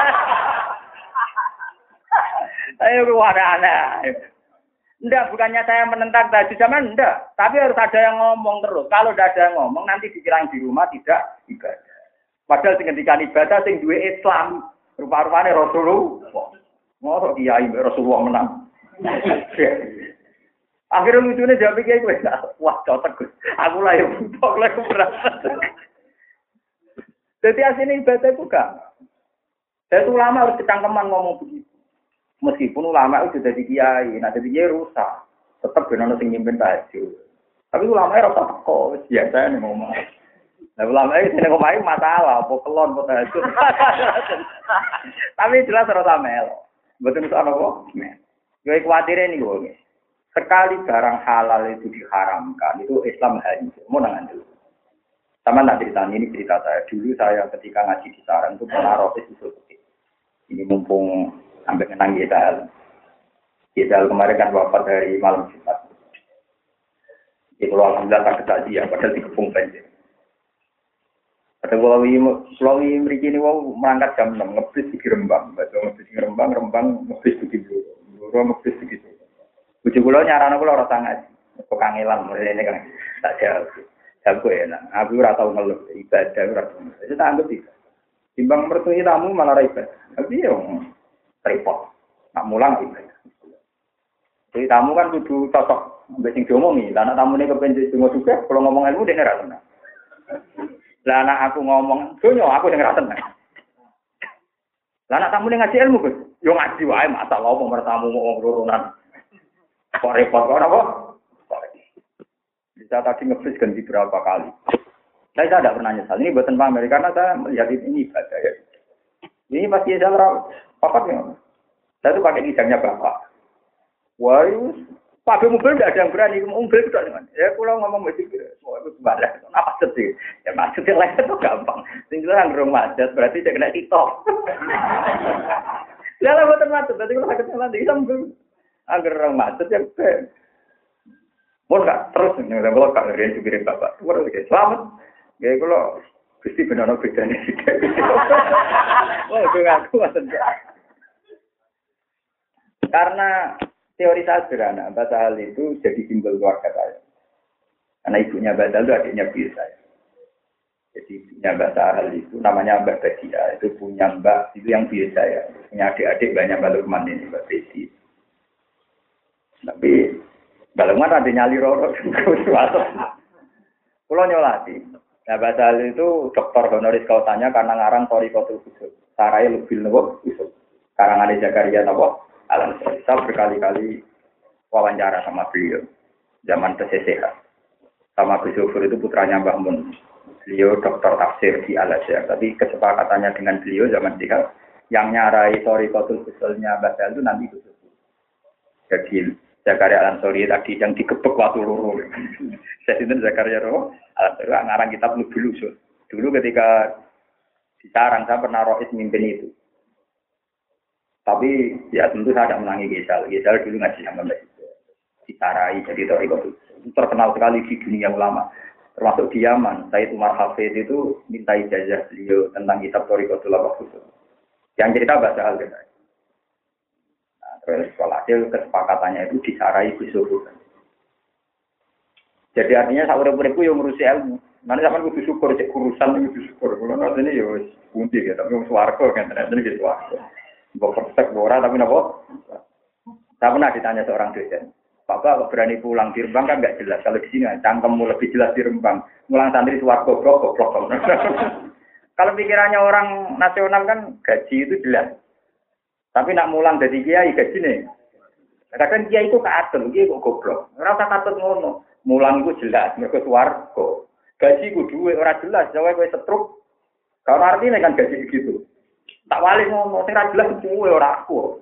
Ayo aneh. Enggak, bukannya saya menentang tadi zaman enggak, tapi harus ada yang ngomong terus. Kalau tidak ada yang ngomong nanti dikira di rumah tidak ibadah. Padahal sing ngendikan ibadah sing duwe Islam. Rupa-rupanya Rasulullah. Mau kiai Rasulullah menang. Akhirnya lucunya jawab kiai gue. Wah, cocok Gus. Aku lah yang butok lah merasa. Jadi aslinya ibadah itu kan. Dan ulama harus kecangkeman ngomong begitu. Meskipun ulama itu sudah jadi kiai, nah jadi kiai rusak. Tetap benar-benar sing mimpin tahajud. Tapi ulama itu rusak kok. Biasa nih ngomong. Nah, ulama ini sini ngomongin masalah, apa kelon, apa tahajud. Tapi jelas harus samel. Betul soal apa? Gue khawatirnya nih gue. Sekali barang halal itu diharamkan, itu Islam hancur. Mau nangan dulu. Sama nak cerita ini cerita saya. Dulu saya ketika ngaji di Sarang itu pernah rotis usul. Ini mumpung sampai kenang kita. Kita kemarin kan wafat dari malam Jumat. Jadi kalau alhamdulillah tak kejadian, padahal dikepung banjir. Pada kalau ini mereka ini mau merangkat jam enam, ngebis di Rembang, baca ngebis di Rembang, Rembang ngebis di Bluro, Bluro ngebis di gitu. Bujuk pulau nyaran aku orang sangat, kekangelan, mulai ini kan tak jauh, jauh ya. Nah, aku ora tau ngeluh ibadah, ora tau. Itu tak anggap tidak. Timbang mertui tamu malah ibadah, tapi yang repot, nak mulang ibadah. Jadi tamu kan kudu cocok, mbek sing diomongi. Lah anak tamu ini kepengen donga juga, kalau ngomong ilmu dia ora tenang. Lah anak aku ngomong dunyo aku ning ra tenang. Lah anak tamu ning ngaji ilmu, Gus. Yo ngaji wae masalah apa mertamu ngomong turunan. Kok repot kok apa? Bisa tadi ngebis ganti berapa kali. Saya tidak pernah nyesal. Ini buatan pamer karena saya melihat ini ibadah ya. Ini pasti saya papat ya. Saya tuh pakai kijangnya bapak. Wah, pakai mobil tidak ada yang berani. Mobil itu tidak. Ya kalau ngomong masih semua itu balik. Apa sih? Ya maksudnya lain itu gampang. Tinggal ngerung macet berarti dia kena TikTok. Ya lah buatan macet. Berarti kalau sakit nanti sambil agar orang macet ya. Mau nggak terus nih? Kalau kak dari supir bapak, waduh selamat. Ya kalau pasti benar-benar bedanya sih. Wah itu ngaku maksudnya. Karena teori saya sederhana, Mbak Sahal itu jadi simbol keluarga saya. Karena ibunya Mbak Sahal itu adiknya biru saya. Jadi ibunya Mbak Sahal itu namanya Mbak Badia, itu punya Mbak itu yang biru saya. Punya adik-adik banyak Mbak Lukman ini, Mbak Bedi. Tapi Mbak Lukman ada nyali roro. Pulau nyolati. Nah, Mbak Sahal itu doktor honoris causanya karena ngarang Thoriqatul Khusus. Sarai lebih newok Khusus. Karangan Zakaria Nawawi. Alam saya berkali-kali wawancara sama beliau zaman P C C H sama Gus Zufur itu putranya Mbah Mun. Beliau doktor tafsir di Al-Azhar. Tapi kesepakatannya dengan beliau zaman C H yang nyarai Thoriqatul Khususnya Mbah Sahal itu nanti Gus Zufur. Jadi Zakaria Al-Ansori tadi yang digebek waktu loro. Saya itu Zakaria Al Ansori ngarang kitab Lubul Usul. Dulu ketika di Sarang saya pernah rois mimpin itu. Tapi ya tentu saya tidak menangi Ghazali. Ghazali dulu ngaji sama Mbak itu. Disarai jadi Thoriqatul Khusus. Terkenal sekali di dunia ulama. Termasuk di Yaman. Said Umar Hafid itu minta ijazah beliau tentang kitab Thoriqatul Khusus. Yang cerita bahasa Al-Ghazali. Nah, terus hasil kesepakatannya itu disarai Gus Zufur. Jadi artinya saya urip-uripku yang ngurusi ilmu. Nanti sampean kudu syukur cek urusan kudu syukur. Kalau rasane ya wis pundi ya, tapi wong swarga kan ternyata iki swarga. Mbok perfect ora tapi napa? Saya pernah ditanya seorang dosen. Bapak berani pulang di Rembang kan enggak jelas. Kalau di sini cangkemmu lebih jelas di Rembang. Mulang santri swarga goblok goblok. Kalau pikirannya orang nasional kan gaji itu jelas. Tapi nak mulang dari kiai gajine. Kadang kiai itu keatur, kiai kok goblok. Ora usah katut ngono. Mulang itu jelas, mereka swarga. Gaji ku duwe ora jelas, jawa kowe setruk. Kalau artinya kan gaji begitu. Tak wali ngono, sing ora jelas duwe ora aku.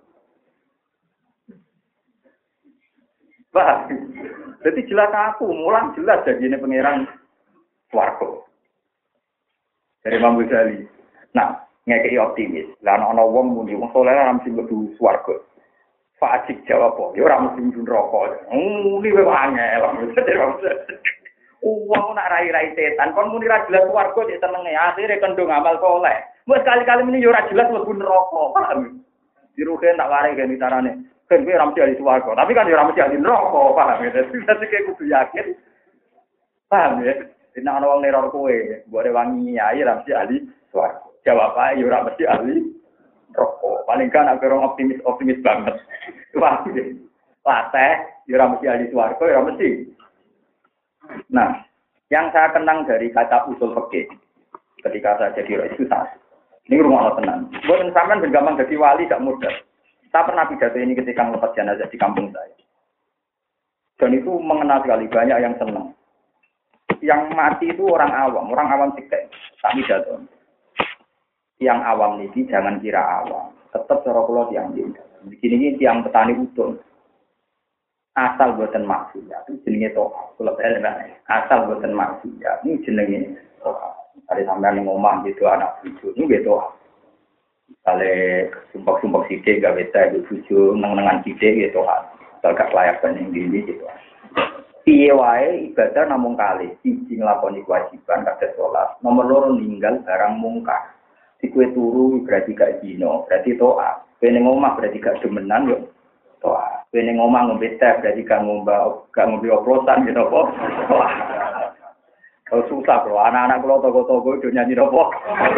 Bah. Jadi jelas aku, mulang jelas jadine pangeran swarga. Dari Imam Ghazali. Nah, ngekeki optimis. Lah ana wong muni wong saleh ora mesti mlebu swarga. Fajik jawab apa? Ya ora mesti mlebu neraka. Muni wae angel. Uang nak rai-rai setan, kon muni ra jelas swarga cek senenge, akhire kendung amal saleh. Wes kali-kali muni yo ora jelas mlebu neraka, paham? Diruhe tak ware geni carane. Ben kowe ora mesti ahli swarga, tapi kan yo ora mesti ahli neraka, paham ya? Dadi kowe kudu yakin. Paham ya? Nek ana wong neror kowe, mbok rewangi ae ora mesti ahli swarga. Jawab ae yo ora mesti ahli neraka. Paling kan aku orang optimis-optimis banget. Paham ya? Lateh yo ora mesti ahli swarga, yo ora mesti. Nah, yang saya kenang dari kata usul fikih ketika saya jadi rois itu tas. Ini rumah Allah tenang. Buat sampean bergampang jadi wali gak mudah. Saya pernah pidato ini ketika melepas jenazah di kampung saya. Dan itu mengenal sekali, banyak yang senang. Yang mati itu orang awam, orang awam siktek. Tak pidato. Yang awam ini jangan kira awam. Tetap cara kula yang di sini tiang petani udon. Asal boten maksiat itu jenenge toha. Kula elek asal boten maksiat ini jenenge toha. Ada sampean ning omah gitu anak cucu niku nggih toha. Kale sumpah-sumpah sithik gawe teh bojo neng-nengan sithik gitu kan. Gak layak ning dindi gitu. Piye wae ibadah namung kali siji nglakoni kewajiban kados salat, nomor loro ninggal barang mungkar. Si kue turu berarti gak zina, berarti toa. Kue ning omah berarti gak demenan yo toa. Kue ning omah ngombe teh berarti gak ngombe gak ngombe oplosan gitu apa. Toa. Kalau susah bro, anak-anak kula toko-toko do nyanyi apa.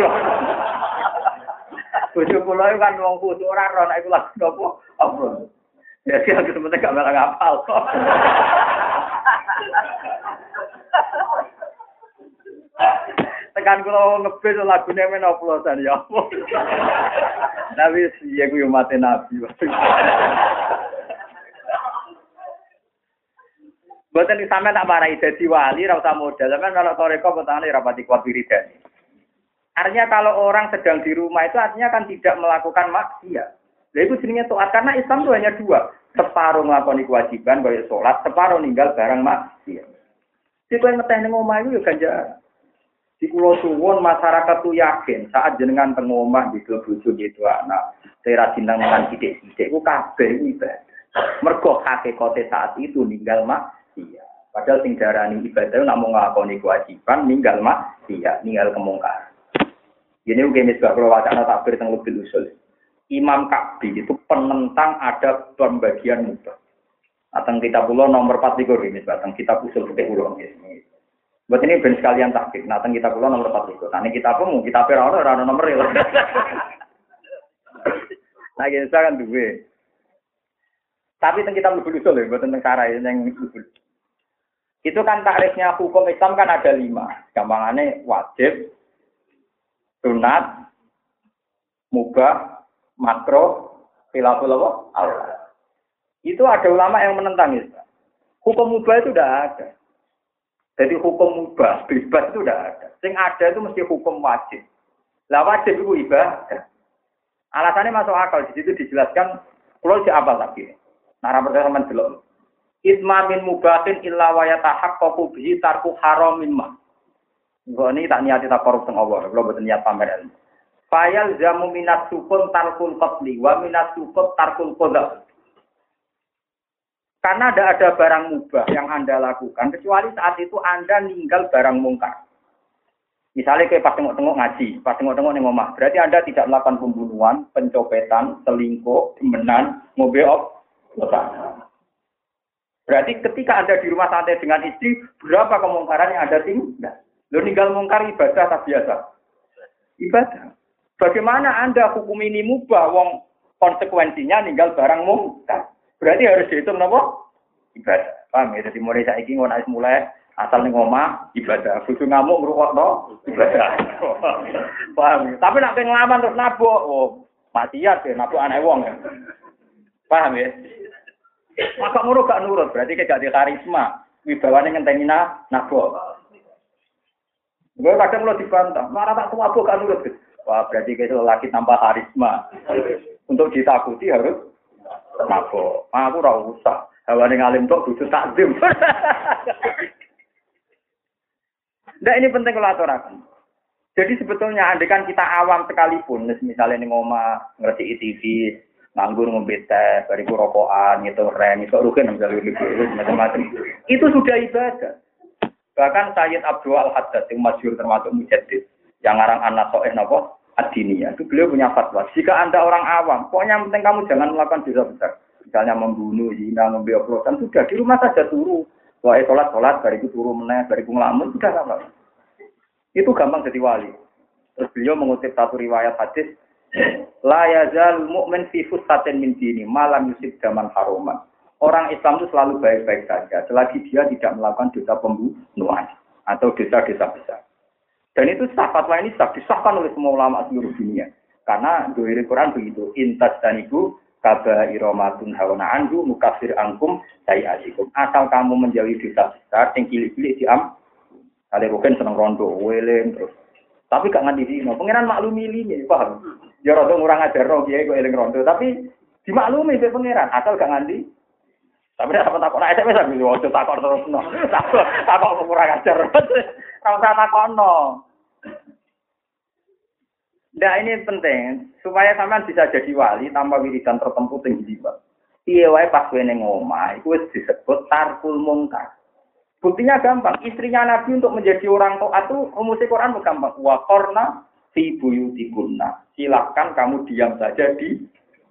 Bojo kula kan wong kudu ora ora nek iku lagu apa? Apa? Ya sih aku sebenarnya gak malah ngapal. Tekan kula ngebis lagune men oplosan ya apa. Tapi piye ku yo mate nabi. Boten sampean tak marai dadi wali ra usah modal. Sampeyan kalau toreko petane rapati kuat wiridan. Artinya kalau orang sedang di rumah itu artinya kan tidak melakukan maksiat. Nah itu jenenge taat karena Islam itu hanya dua. Separuh melakukan kewajiban kaya salat, separuh ninggal barang maksiat. Sing kowe ngeteh ning omah iku yo ganjaran. Di kula suwun masyarakat tuh yakin saat jenengan teng omah di bojo gitu anak, saya rajin nang sithik-sithik ku kabeh ibadah. Mergo hakikate saat itu ninggal maksiat. Padahal sing darani ibadah namung nglakoni kewajiban, ninggal maksiat, ninggal kemungkaran. Ini ugi misbah kalau wacana takbir tentang lebih usul. Imam Ka'bi itu penentang ada pembagian mubah. Atau kitab ulo nomor empat puluh tiga misbah tentang kitab usul fikih ulo. Buat ini ben sekalian takbir. Nah tentang kitab ulo nomor empat puluh tiga. Nah ini kitab mau kitab ora ora nomor ya. Nah gitu kan duwe. Tapi tentang kitab lebih usul ya buat tentang cara yang usul. Itu kan takrifnya hukum Islam kan ada lima. Gampangannya wajib, sunat, mubah, makro, khilaful apa? Allah. Itu ada ulama yang menentang itu. Hukum mubah itu tidak ada. Jadi hukum mubah, bebas itu tidak ada. Yang ada itu mesti hukum wajib. Lah wajib itu ibadah. Alasannya masuk akal. Di situ dijelaskan, kalau siapa lagi? Nara pertama delok. Itma min mubahin illa wa yatahaqqaqu bihi tarku haramin ma. Ini tak niati tak korup teng Allah, kalau betul niat pamer ilmu. Fayal zamu minat sukun tarkul qatli wa minat sukun tarkul qadha. Karena tidak ada barang mubah yang Anda lakukan kecuali saat itu Anda ninggal barang mungkar. Misalnya kayak pas tengok-tengok ngaji, pas tengok-tengok ning omah, berarti Anda tidak melakukan pembunuhan, pencopetan, selingkuh, demenan, ngobeok, dosa. Berarti ketika Anda di rumah santai dengan istri, berapa kemungkaran yang Anda tinggal? Lo ninggal mungkar ibadah tak biasa? Ibadah. Bagaimana Anda hukum ini mubah, wong konsekuensinya ninggal barang mungkar? Berarti harus dihitung apa? Ibadah. Paham ya? Jadi mulai saiki ngono wis mulai asal ning omah ibadah. Kudu ngamuk ngrungokno ibadah. Paham ya? Tapi nek ngelawan terus nabok, oh, maksiat ya nabok anak wong. Paham ya? Maka ngono gak nurut, berarti gak ada karisma. Wibawane ngenteni nabok. Gue kadang lo dibantah, marah tak tua abu kan nurut. Wah berarti kayak lelaki tanpa karisma. Untuk ditakuti harus nabok. Aku ora usah. Hawane ngalim tok kudu takdim. Nah ini penting kalau aturakan. Jadi sebetulnya andekan kita awam sekalipun, misalnya ning omah ngerti T V, nganggur ngombe teh, bariku rokokan, gitu ren, iso rugen misalnya macam-macam. Itu sudah ibadah. Bahkan Sayyid Abdul Al-Haddad yang masyhur termasuk mujaddid yang ngarang anak soeh napa ad-diniyah itu beliau punya fatwa jika Anda orang awam pokoknya yang penting kamu jangan melakukan dosa besar misalnya membunuh zina ngombe oplosan sudah di rumah saja turu wae salat salat bariku turu meneh bariku nglamun sudah apa itu gampang jadi wali. Terus beliau mengutip satu riwayat hadis la yazal mu'min fi fusatin min dini malam yusib zaman haruman. Orang Islam itu selalu baik-baik saja selagi dia tidak melakukan dosa pembunuhan atau dosa-dosa besar. Dan itu sah, fatwa ini sah, disahkan oleh semua ulama seluruh dunia. Karena dohiri Quran begitu, intas dan ibu kabairomatun hawana anhu mukafir angkum sayiatikum. Asal kamu menjauhi dosa besar, yang cilik-cilik diam. Kali rugen seneng rondo, weleng terus. Tapi gak nganti dino, pengiran maklumi ini, paham? Ya rondo ngurang ajar roh, ya kok eleng rondo. Tapi dimaklumi oleh pengiran, asal gak nganti. Tapi nek sampe takon S M S sampe ojo takon terus no. Takon takon kurang ajar. Ora usah takonno. Ndak ini penting supaya sampean bisa jadi wali tanpa wiridan tertentu tinggi Pak. Piye wae pas kowe ning omah iku wis disebut tarkul mungkar. Buktinya gampang, istrinya Nabi untuk menjadi orang taat itu rumus Quran gampang. Wa qarna fi buyutikunna. Silakan kamu diam saja di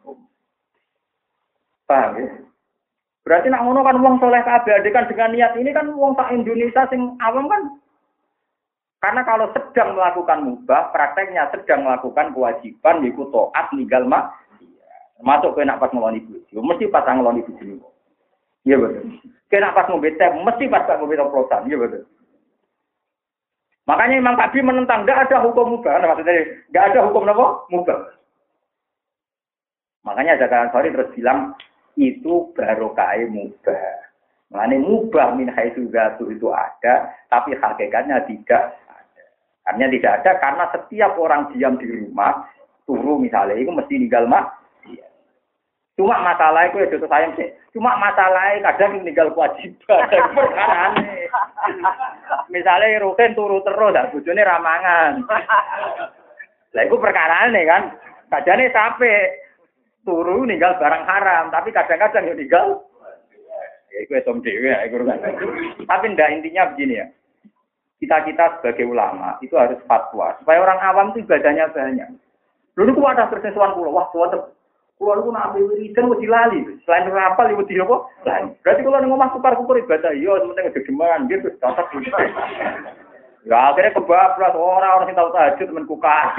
paham ya? Berarti nak ngono kan wong soleh kabeh adekan dengan niat ini kan wong tak Indonesia sing awam kan. Karena kalau sedang melakukan mubah, prakteknya sedang melakukan kewajiban yaiku taat ninggal mak. Termasuk kowe nak pas ngeloni bojo, mesti pas ngeloni bojo. Iya betul. Kena pas ngombe teh, mesti pas ngombe oplosan, iya betul. Makanya Imam Qabi menentang, enggak ada hukum mubah, nah, maksudnya enggak ada hukum apa? Mubah. Makanya Zakaria Ansari terus bilang itu barokah mubah. Makanya mubah min haitsu dzatu itu ada, tapi hakikatnya tidak ada. Artinya tidak ada karena setiap orang diam di rumah, turu misalnya itu mesti ninggal mak. Cuma masalah itu ya itu sayang sih. Cuma masalahnya kadang meninggal kewajiban. Perkarane. Misalnya rutin turu terus, dan bojone ramangan. Lah itu perkarane kan. Kadane sampai turu ninggal barang haram, tapi kadang-kadang yo ninggal. Ya iku etom dhewe ya iku kan. Tapi ndak intinya begini ya. Kita-kita sebagai ulama itu harus fatwa supaya orang awam itu ibadahnya banyak. Dulu ku ada persesuan kula, wah kuwi Kulo niku nak ambil wiridan wis dilali. Selain rapal iku di apa? Lali. Berarti kulo ning omah kupar-kupur ibadah iya sementing gedeman gitu cocok. Ya akhirnya kebablas ora orang sing tau tahajud men kukar.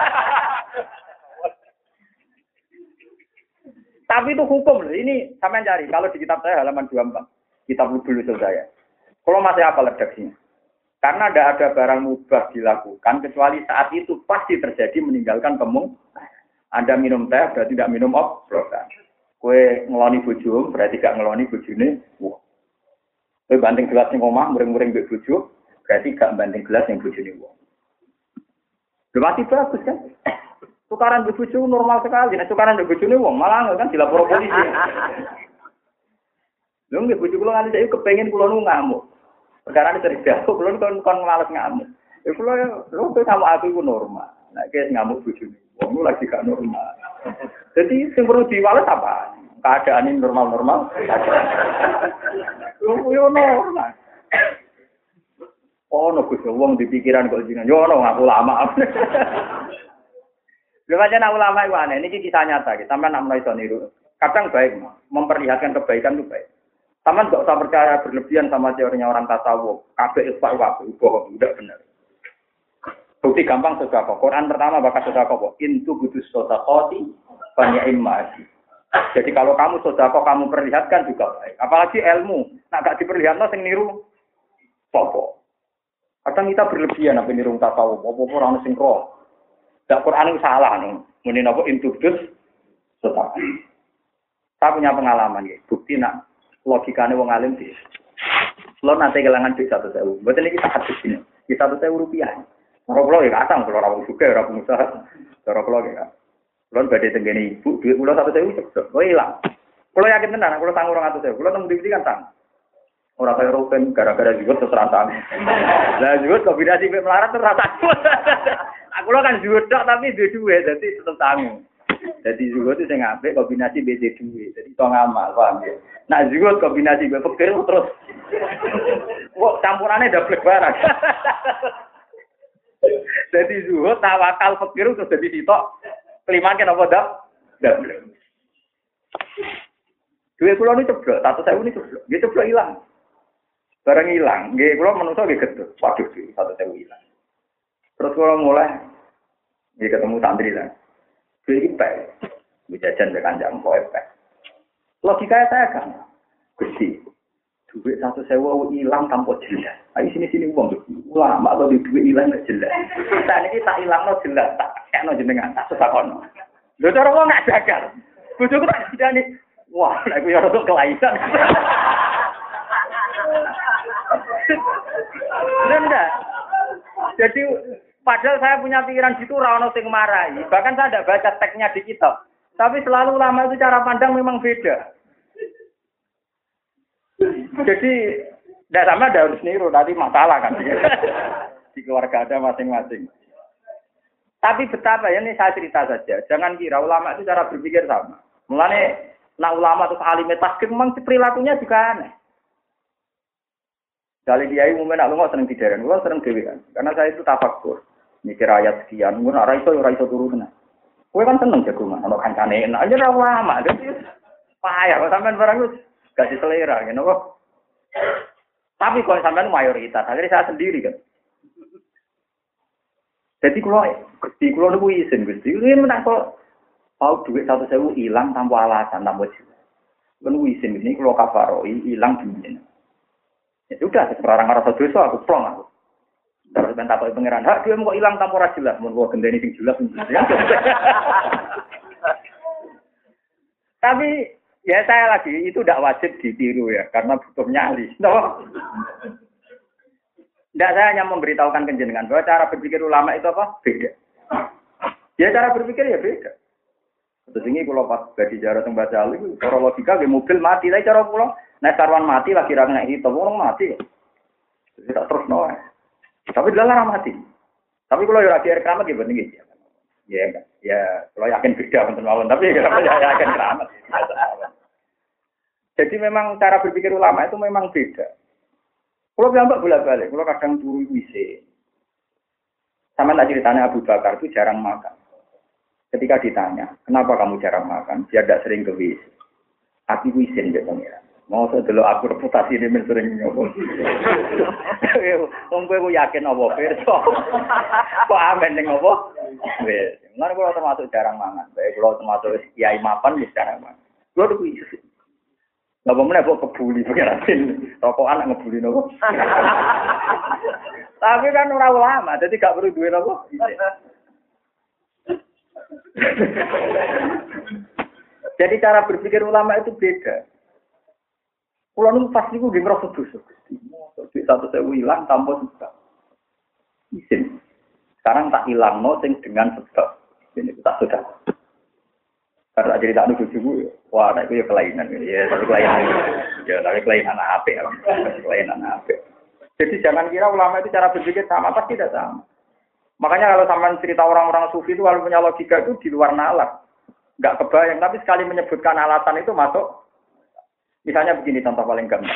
Tapi itu hukum loh. Ini sampean cari kalau di kitab saya halaman dua puluh empat. Kitab dulu saya. Kalau masih apa redaksinya? Karena tidak ada barang mubah dilakukan kecuali saat itu pasti terjadi meninggalkan kemung. Anda minum teh berarti tidak minum oplosan. Kue ngeloni bojo berarti gak ngeloni bojone. Wah. Kue banting gelas ning omah muring-muring mbek bojo berarti gak banting gelas yang bojone wong. Berarti bagus kan? Tukaran mbek bojo normal sekali. Nek tukaran mbek bojone wong malah kan dilapor polisi. Lho mbek bojo kula nganti saiki kepengin kula nu ngamuk. Perkara ini cerdas, kula kon kon males ngamuk. Ya kula lho sama aku iku normal. Nek kes ngamuk bojone wong lagi gak normal. Jadi sing perlu diwales apa? Keadaan ini normal-normal. Yo normal. Oh, no Gus, wong di pikiran kok jenengan. Yo no ngaku lama. Lha pancen ulama iku aneh. Niki kisah nyata, sampean nak iso niru. Kadang baik memperlihatkan kebaikan itu baik. Sampean enggak usah percaya berlebihan sama teorinya orang tasawuf. Kabeh ikhfa wa bohong, tidak benar. Bukti gampang sedekah. Quran pertama bakal sedekah. Intu budus sedekati banyak imasi. Jadi kalau kamu sedekah kamu perlihatkan juga baik. Apalagi ilmu, nak gak diperlihatno sing niru apa? Kadang kita berlebihan apa niru tasawuf, apa ora ono sing roh. Dak Quran itu salah nih. Muni napa intu budus sedekah. Saya punya pengalaman ya. Bukti nak logikane wong alim sih. Lo nanti kelangan duit satu sewu. Betul ini kita hadis ini. Di satu sewu rupiah. Kalau kalau ya katang, kalau orang juga, orang pengusaha, kalau kalau ya, kalau badai tenggine ibu, duit pulau satu sewu cepet, kalau hilang. Kalau yakin tenar, kalau tanggung orang satu sewu, kalau tanggung duit kan tang. Orang kaya roken, gara-gara juga terserah tang. Lah juga kombinasi melarat terserah tang. Aku lo kan juga tapi duit duit, jadi tetap tanggung. Jadi juga itu saya ngambil kombinasi B D duit, jadi itu ngamal, paham ya. Nah juga kombinasi B fakir terus, wah campurannya double barang. Jadi zuhud tawakal fakir terus jadi sitok kelima kan apa dak double. Duit kula ini ceblok, satu sewu ini ceblok, dia ceblok hilang. Barang hilang, nggih kula menungso nggih gedhe. Waduh, satu sewu hilang. Terus kula mulai nggih ketemu santri lah. Duit iki bae. Jajan tekan jam kowe bae. Logika saya kan Gusti. Duit satu sewu hilang tanpa jelas. Ayo sini-sini uang tuh. Ulama kalau di duit hilang nggak jelas. Kita ini tak hilang no jelas. Tak kayak no jenengan. Tak susah kono. Lalu cara uang nggak jagal. Bujuk tak tidak nih. Wah, aku ya untuk kelainan. Enggak. Jadi padahal saya punya pikiran gitu rano sing marahi. Bahkan saya tidak baca teksnya di kitab. Tapi selalu ulama itu cara pandang memang beda. Jadi tidak sama ada harus niru, nanti masalah kan di keluarga ada masing-masing. Tapi betapa ya ini saya cerita saja. Jangan kira ulama itu cara berpikir sama. Mulane nah ulama atau alim tasbih memang perilakunya juga aneh. Dari kiai umumnya nak lunga seneng dideren, gua seneng dhewe kan. Karena saya itu tafakur. Mikir ayat sekian, mun ora iso ora iso turu tenan. Kowe kan seneng jagungan, ana kancane enak aja ora ulama. Dadi payah kok sampean barang wis gak selera ngene kok. Tapi kalau sampean mayoritas, akhirnya saya sendiri kan. Jadi kalau Gusti kalau niku izin Gusti, ini menang kok mau duit satu sewu hilang tanpa alasan tanpa jelas. Kan izin ini kalau kafaroi hilang duitnya. Ya sudah, sekarang rasa dosa aku plong aku. Terus ben takoki pangeran, hak dia kok hilang tanpa ora jelas, mun kok gendeni sing jelas. Tapi ya saya lagi itu tidak wajib ditiru ya, karena butuh nyali. No. Tidak, saya hanya memberitahukan kenjenengan bahwa cara berpikir ulama itu apa? Beda. Ya cara berpikir ya beda. Terus ini kalau pas bagi jarak tempat jalan, cara logika di mobil mati, tapi cara pulang, naik karuan mati lagi kira-kira hitam, orang mati. Jadi tak terus no. Tapi dalam mati. Tapi kalau yang akhir keramat ya benar gitu. Ya, ya kalau yakin beda untuk mawon, tapi ya yakin keramat. Jadi memang cara berpikir ulama itu memang beda. Kalau gambar bolak-balik, kalau kadang turu wise. Sama tak ceritanya Abu Bakar itu jarang makan. Ketika ditanya, kenapa kamu jarang makan? Dia tidak sering ke wise. Aku wisin dia pengira. Mau dulu aku reputasi ini men sering nyoba. Wong kowe yakin apa pirsa? Kok amen ning apa? Wis, lan kula termasuk jarang mangan. Baik kula termasuk kiai mapan wis jarang mangan. Kula tuh wis. Lah wong meneh kok kebuli pengen rokok anak ngebuli nopo. Tapi kan ora ulama, jadi gak perlu duwe nopo. Jadi cara berpikir ulama itu beda. Kulo nu pas niku nggih ngrasa dosa. Duit satu sewu hilang tanpa sebab. Izin. Sekarang tak hilangno sing dengan sebab. Ini tak sudah. Karena jadi tak nuduh juga. Wah, nah itu ya kelainan. Ya, tapi kelainan. Ya, tapi kelainan H P. Kelainan H P. Jadi jangan kira ulama itu cara berpikir sama, pasti tidak sama. Makanya kalau sampean cerita orang-orang sufi itu kalau punya logika itu di luar nalar. Enggak kebayang, tapi sekali menyebutkan alasan itu masuk. Misalnya begini contoh paling gampang.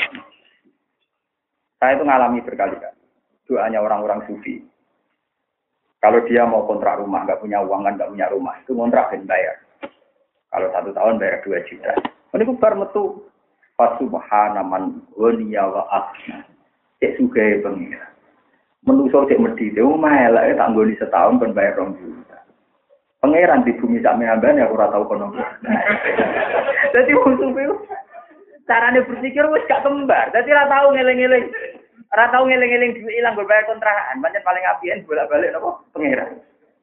Saya itu ngalami berkali-kali. Doanya orang-orang sufi. Kalau dia mau kontrak rumah, nggak punya uang, nggak punya rumah, itu kontrak dan bayar. Kalau satu tahun bayar dua juta. Ini ku bar metu. Fasubhana man waniya wa asna. Cek sugai pengira. Menusuk cek medhi. Itu malah tak nggoni setahun kan bayar dua juta. Pangeran di bumi sak mehamban ya ora tau kono. Dadi wong sufi carane berpikir wis gak kembar. Dadi ora tau ngeling-eling. Ora tau ngeling-eling duit ilang go bayar kontrakan. Pancen paling apien bolak-balik napa pangeran.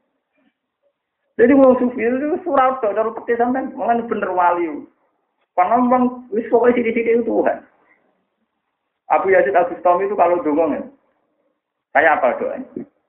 Jadi wong sufi itu surau tok cara peti sampean, malah bener wali. Karena memang wis pokoke sithik-sithik itu Tuhan. Abu Yazid Al-Bustami itu kalau donga kayak apa doanya?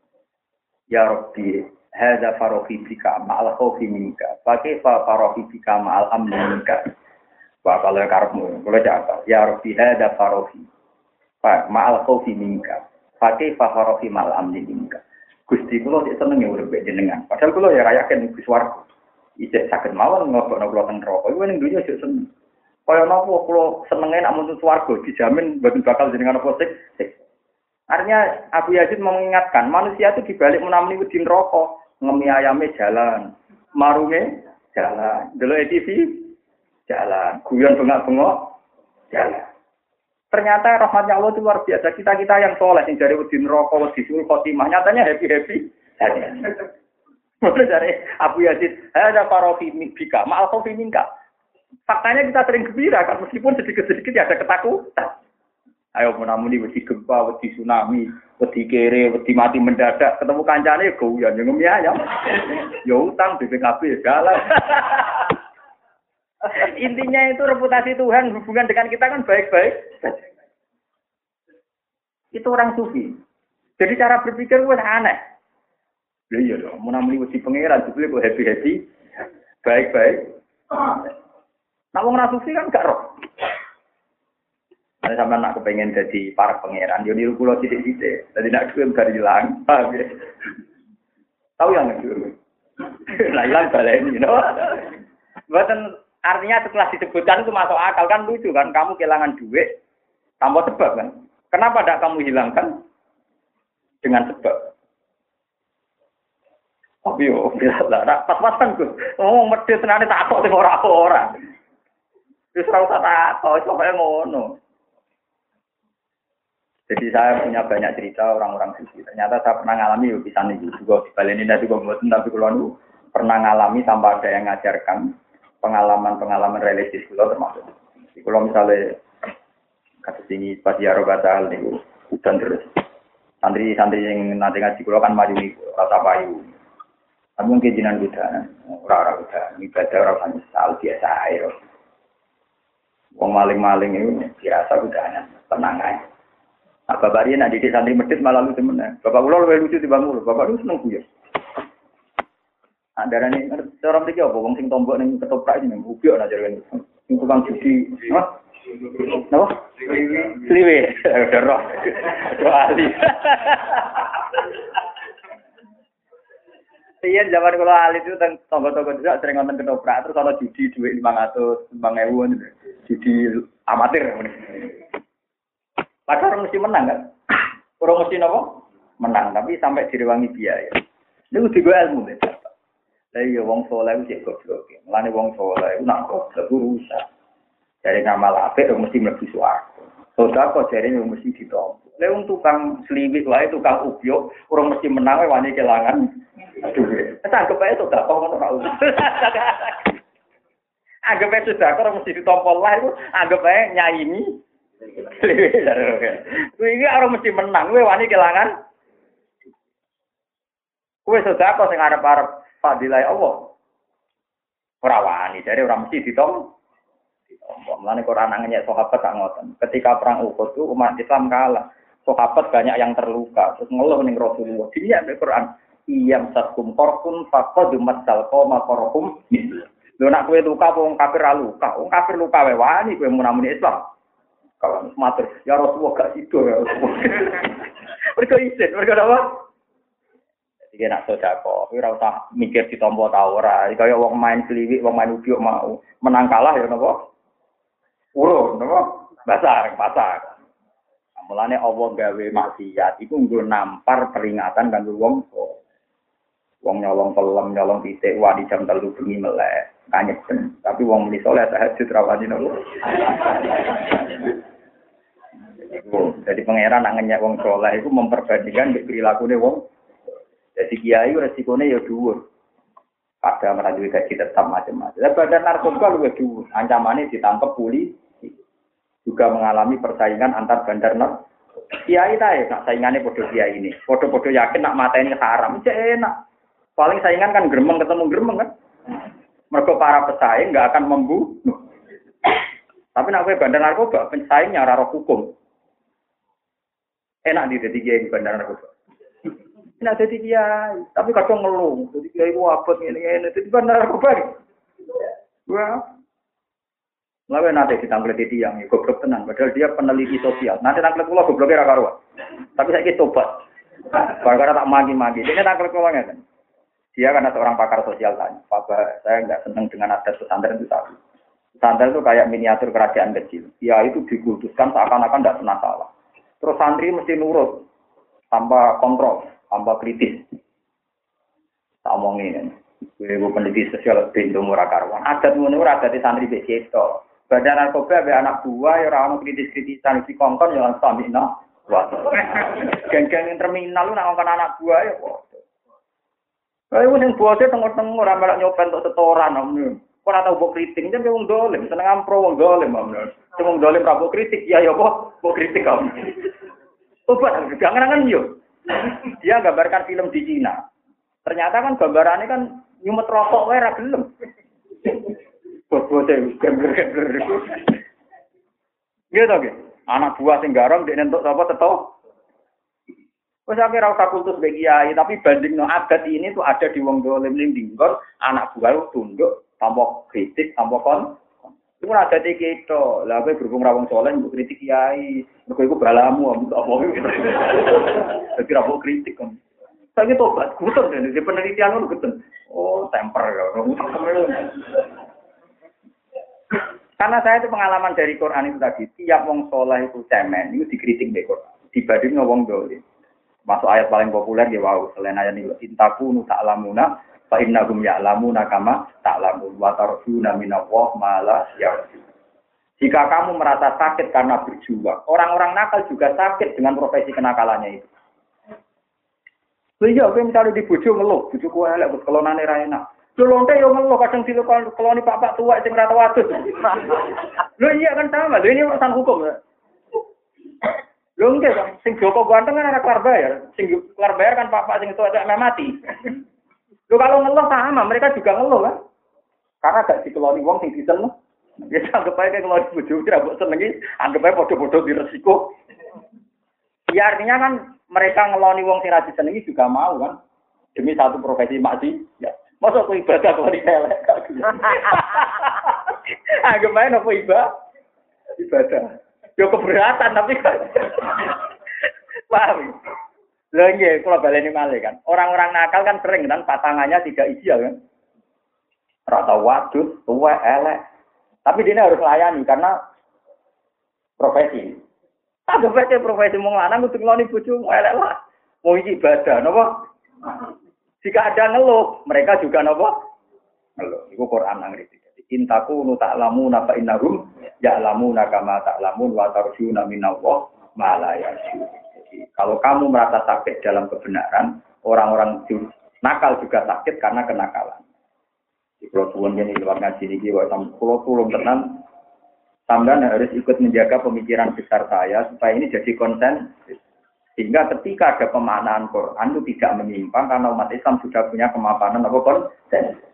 Ya Rabbi, hadza farohi bika ma'al khaufi minka. Pakai fa farohi bika ma'al amni minka. Wah, kalau karepmu, kalau apa? Ya Rabbi, hadza farohi. Fa ma'al khaufi minka. Pakai fa farohi ma'al amni minka. Gusti kula sik seneng ya urip jenengan. Padahal kula ya ra yakin Gusti warga. Isih saged mawon nglebokno kula teng neraka. Iku ning dunya sik seneng. Kaya napa kula senenge nek mutu swarga dijamin mboten bakal jenengan apa sik. Artinya Abu Yazid mengingatkan manusia itu dibalik menamuni wedi neraka, ngemi ayame jalan, marunge jalan, delok T V jalan, guyon bengak-bengok jalan. Ternyata rahmatnya Allah itu luar biasa. Kita-kita yang soleh, yang dari wedi neraka, wedi suul khotimah, nyatanya happy-happy. Mulai dari Abu Yazid, ada farofi bika, ma'al khofi minka. Faktanya kita sering gembira, kan meskipun sedikit-sedikit ya ada ketakutan. Ayo menamuni wedi gempa, wedi tsunami, wedi kere, wedi mati mendadak, ketemu kancane ya guyon, ya ngemi ayam. Ya utang B P K B jalan. Intinya itu reputasi Tuhan hubungan dengan kita kan baik-baik. Itu orang sufi. Jadi cara berpikir gue aneh. Ya iya dong, mau namanya wedi pangeran, jadi gue happy-happy, baik-baik. Nah orang sufi kan gak roh. Ada sampai nak kepengen jadi para pangeran, dia niru pulau sidik-sidik. Jadi nak gue gak hilang. Tahu yang itu. Lah ilang baleni, no. Mboten artinya setelah disebutkan itu masuk akal kan lucu kan kamu kehilangan duit tanpa sebab kan. Kenapa tidak kamu hilangkan dengan sebab? Tapi yo lah pas-pasan Gus. Ngomong medhit tenane takok sing ora-ora. Wis ora usah takok, pokoke ngono. Jadi saya punya banyak cerita orang-orang suci. Ternyata saya pernah ngalami yo pisan iki juga dibaleni nanti kok mboten tapi kula niku pernah ngalami tanpa ada yang ngajarkan pengalaman-pengalaman religius kula termasuk. Kalau misalnya kasus ini pas ya rogatal niku hujan terus. Santri-santri yang nanti ngaji kula kan maju niku rasa payu. Tapi mungkin jinan kuda, ora-ora kuda, ibadah ora panisal biasa ae. Wong maling-maling itu biasa kudanya, tenang aja. Nah, bapak dia nak didik santri medit malah lucu mana. Bapak ulo lebih lucu timbang ulo. Bapak lu seneng kuya. Ada nih, orang tiga apa? Wong sing tombok ning ketoprak ini, ubiok nak jalan. Sing tukang judi, apa? Apa? Sliwe, roh, roh ahli. Iya, zaman kalau ahli itu tombok-tombok juga sering nonton ketoprak. Terus kalau judi duit lima ratus, lima ribu, judi amatir. Padahal orang mesti menang kan? Orang mesti apa? Menang, tapi sampai direwangi biaya. Ini udah gue ilmu deh. Tapi ya wong soleh itu cek goblok. Mulane wong soleh itu nak goblok rusak. Dari ngamal apik itu mesti mlebu swarga. Sedekah jare itu mesti ditompo. Lha wong tukang sliwik wae tukang ubyok, orang mesti menang wae wani kelangan. Aduh. Anggap ae sedekah ngono ra usah. Anggap ae sedekah orang mesti ditompo lah itu anggap ae nyaingi. Kuwi orang mesti menang wae wani kelangan. Kuwi sedekah sing arep-arep fadilah Allah. Ora wani, jadi ora mesti ditom. Ditompo. Mulane Quran nanyek sahabat tak ngoten. Ketika perang Uhud itu umat Islam kalah. Sahabat banyak yang terluka. Terus ngeluh ning Rasulullah. Dia di Quran, "Iyam satkum qarqun faqad matsal qoma qarqum." Lho nak kowe luka wong kafir ra luka. Wong kafir luka wae wani kowe munamuni Islam. Kalau matur, ya Rasulullah gak sido ya Rasulullah. Mergo isin, mergo apa? Iki nak sedekah, ora usah mikir ditampa ta ora. Kaya wong main kliwik, wong main ubyok mau menang kalah ya napa? Urun, napa? Basar, pasar. Mulane Allah gawe maksiat iku nggo nampar peringatan kanggo wong wong nyolong pelem, nyolong pitik wani jam telu bengi melek, kanyeten. Tapi wong muni saleh tahajud ra wani napa? Jadi pangeran nak ngenyek wong saleh iku memperbandingkan perilakuane wong. Jadi kiai resikonya ya dhuwur. Ada menajuhi gaji tetap macam-macam. Dan badan narkoba luwih dhuwur. Ancamannya ditangkap polisi. Juga mengalami persaingan antar bandar narkoba. Kiai ta ya, nak saingannya podo kiai ini. Podo-podo yakin nak mateni haram. Cek enak. Paling saingan kan gremeng ketemu gremeng kan. Mergo para pesaing enggak akan membunuh. Tapi nak kowe bandar narkoba, pesaingnya ora roh hukum. Enak di dadi kiai bandar narkoba. Nak jadi kiai, tapi kadang ngeluh. Jadi kiai itu abot ini-ini. Jadi benar apa bang? Wah, lalu nanti ditangkap di tiang, goblok tenang. Padahal dia peneliti sosial. Nanti tangkap pulau gobloknya rakaruan. Tapi saya kira coba. Karena tak magi-magi. Dia tangkap pulangnya kan. Dia karena seorang pakar sosial tanya, Papa, saya nggak senang dengan adat pesantren itu satu. Pesantren itu kayak miniatur kerajaan kecil. Dia itu dikultuskan seakan-akan tidak pernah salah. Terus santri mesti nurut tanpa kontrol. Tanpa kritis. Tak omongin. Ibu peneliti sosial pintu murah karuan. Adat murah adat di santri begitu. Badan narkoba be anak buah ya orang kritis-kritisan di kongkon yang stamina. Wah. Geng-geng yang terminal lu nak ngongkon anak buah ya kok. Kalau yang buahnya tengok-tengok orang malah nyopen untuk setoran om. Kau nak tahu buat kritik jadi wong dolim. Seneng ampro wong dolim om. Cuma wong dolim rabu kritik ya ya kok. Buat kritik om. Coba jangan-jangan yuk. Dia gambarkan film di Cina. Ternyata kan gambarannya kan nyumet rokok wae ra gelem. Bos-bos e gambler-gambler iku. Gitu ge. Anak buah sing garong dek entuk sapa teto. Wes ake ra usah kultus bagi kiai, tapi bandingno adat ini tuh ada di wong dolim ning dinggon, anak buah tunduk tanpa kritik, tanpa kon. Itu ada di kita. Lah kowe berhubung ra wong saleh mbok kritik kiai. Mergo iku balamu apa gitu. Dadi ra mbok kritik kan. Saya tobat, guten dan di penelitian itu guten. Oh, temper ya. Karena saya itu pengalaman dari Quran itu tadi, tiap wong soleh itu cemen, itu dikritik deh Quran. Dibanding ngomong doli. Masuk ayat paling populer ya wow, selain ayat ini, intaku nu ta'lamuna, fa innahum ya'lamuna kama ta'lamun, wa tarjuna minallah malah yarju. Jika kamu merasa sakit karena berjuang, orang-orang nakal juga sakit dengan profesi kenakalannya itu. Iya, gue misalnya di bojo ngeluh, bojoku elek, bos kelonane ra enak. Lho lonte yo ngeluh kadang di keloni pak-pak tua sing ra tau adus. Lho iya kan sama, lho ini urusan hukum ya. Lho enggak, sing Joko ganteng kan anak kelar bayar, sing kelar bayar kan pak-pak sing tua sampai mati. Lho kalau ngeluh sama, mereka juga ngeluh kan. Karena gak dikeloni wong sing diseneng. Ya anggap aja kayak ngeloni bojo kira mbok senengi, anggap aja padha-padha di resiko. Ya artinya kan mereka ngeloni wong sing ra disenengi juga mau kan. Demi satu profesi maksi, ya. Masa aku ibadah kalau di elek. Anggap aja apa ibadah? Ibadah. Yo keberatan tapi kan. Paham? Lho nggih, kula baleni malih kan. Orang-orang nakal kan sering kan pasangannya tidak ideal kan. Rata wadud, tua, elek. Tapi dia harus melayani karena profesi. Anggap aja profesi mau lanang kudu ngeloni bojo elek lah. Mau ibadah napa? Jika ada ngeluh, mereka juga napa? Ngeluh. Iku Quran nang ngriti. Intaku nu ta'lamuna fa innahum ya'lamuna kama ta'lamun wa tarjuna minallah ma la yarju. Jadi kalau kamu merasa sakit dalam kebenaran, orang-orang nakal juga sakit karena kenakalan. Di pulau suwun ini luar ngaji niki wae pulau tulung tenan. Sampeyan harus ikut menjaga pemikiran besar saya supaya ini jadi konsen. Sehingga ketika ada pemaknaan Quran itu tidak menyimpang karena umat Islam sudah punya kemapanan apa konsen.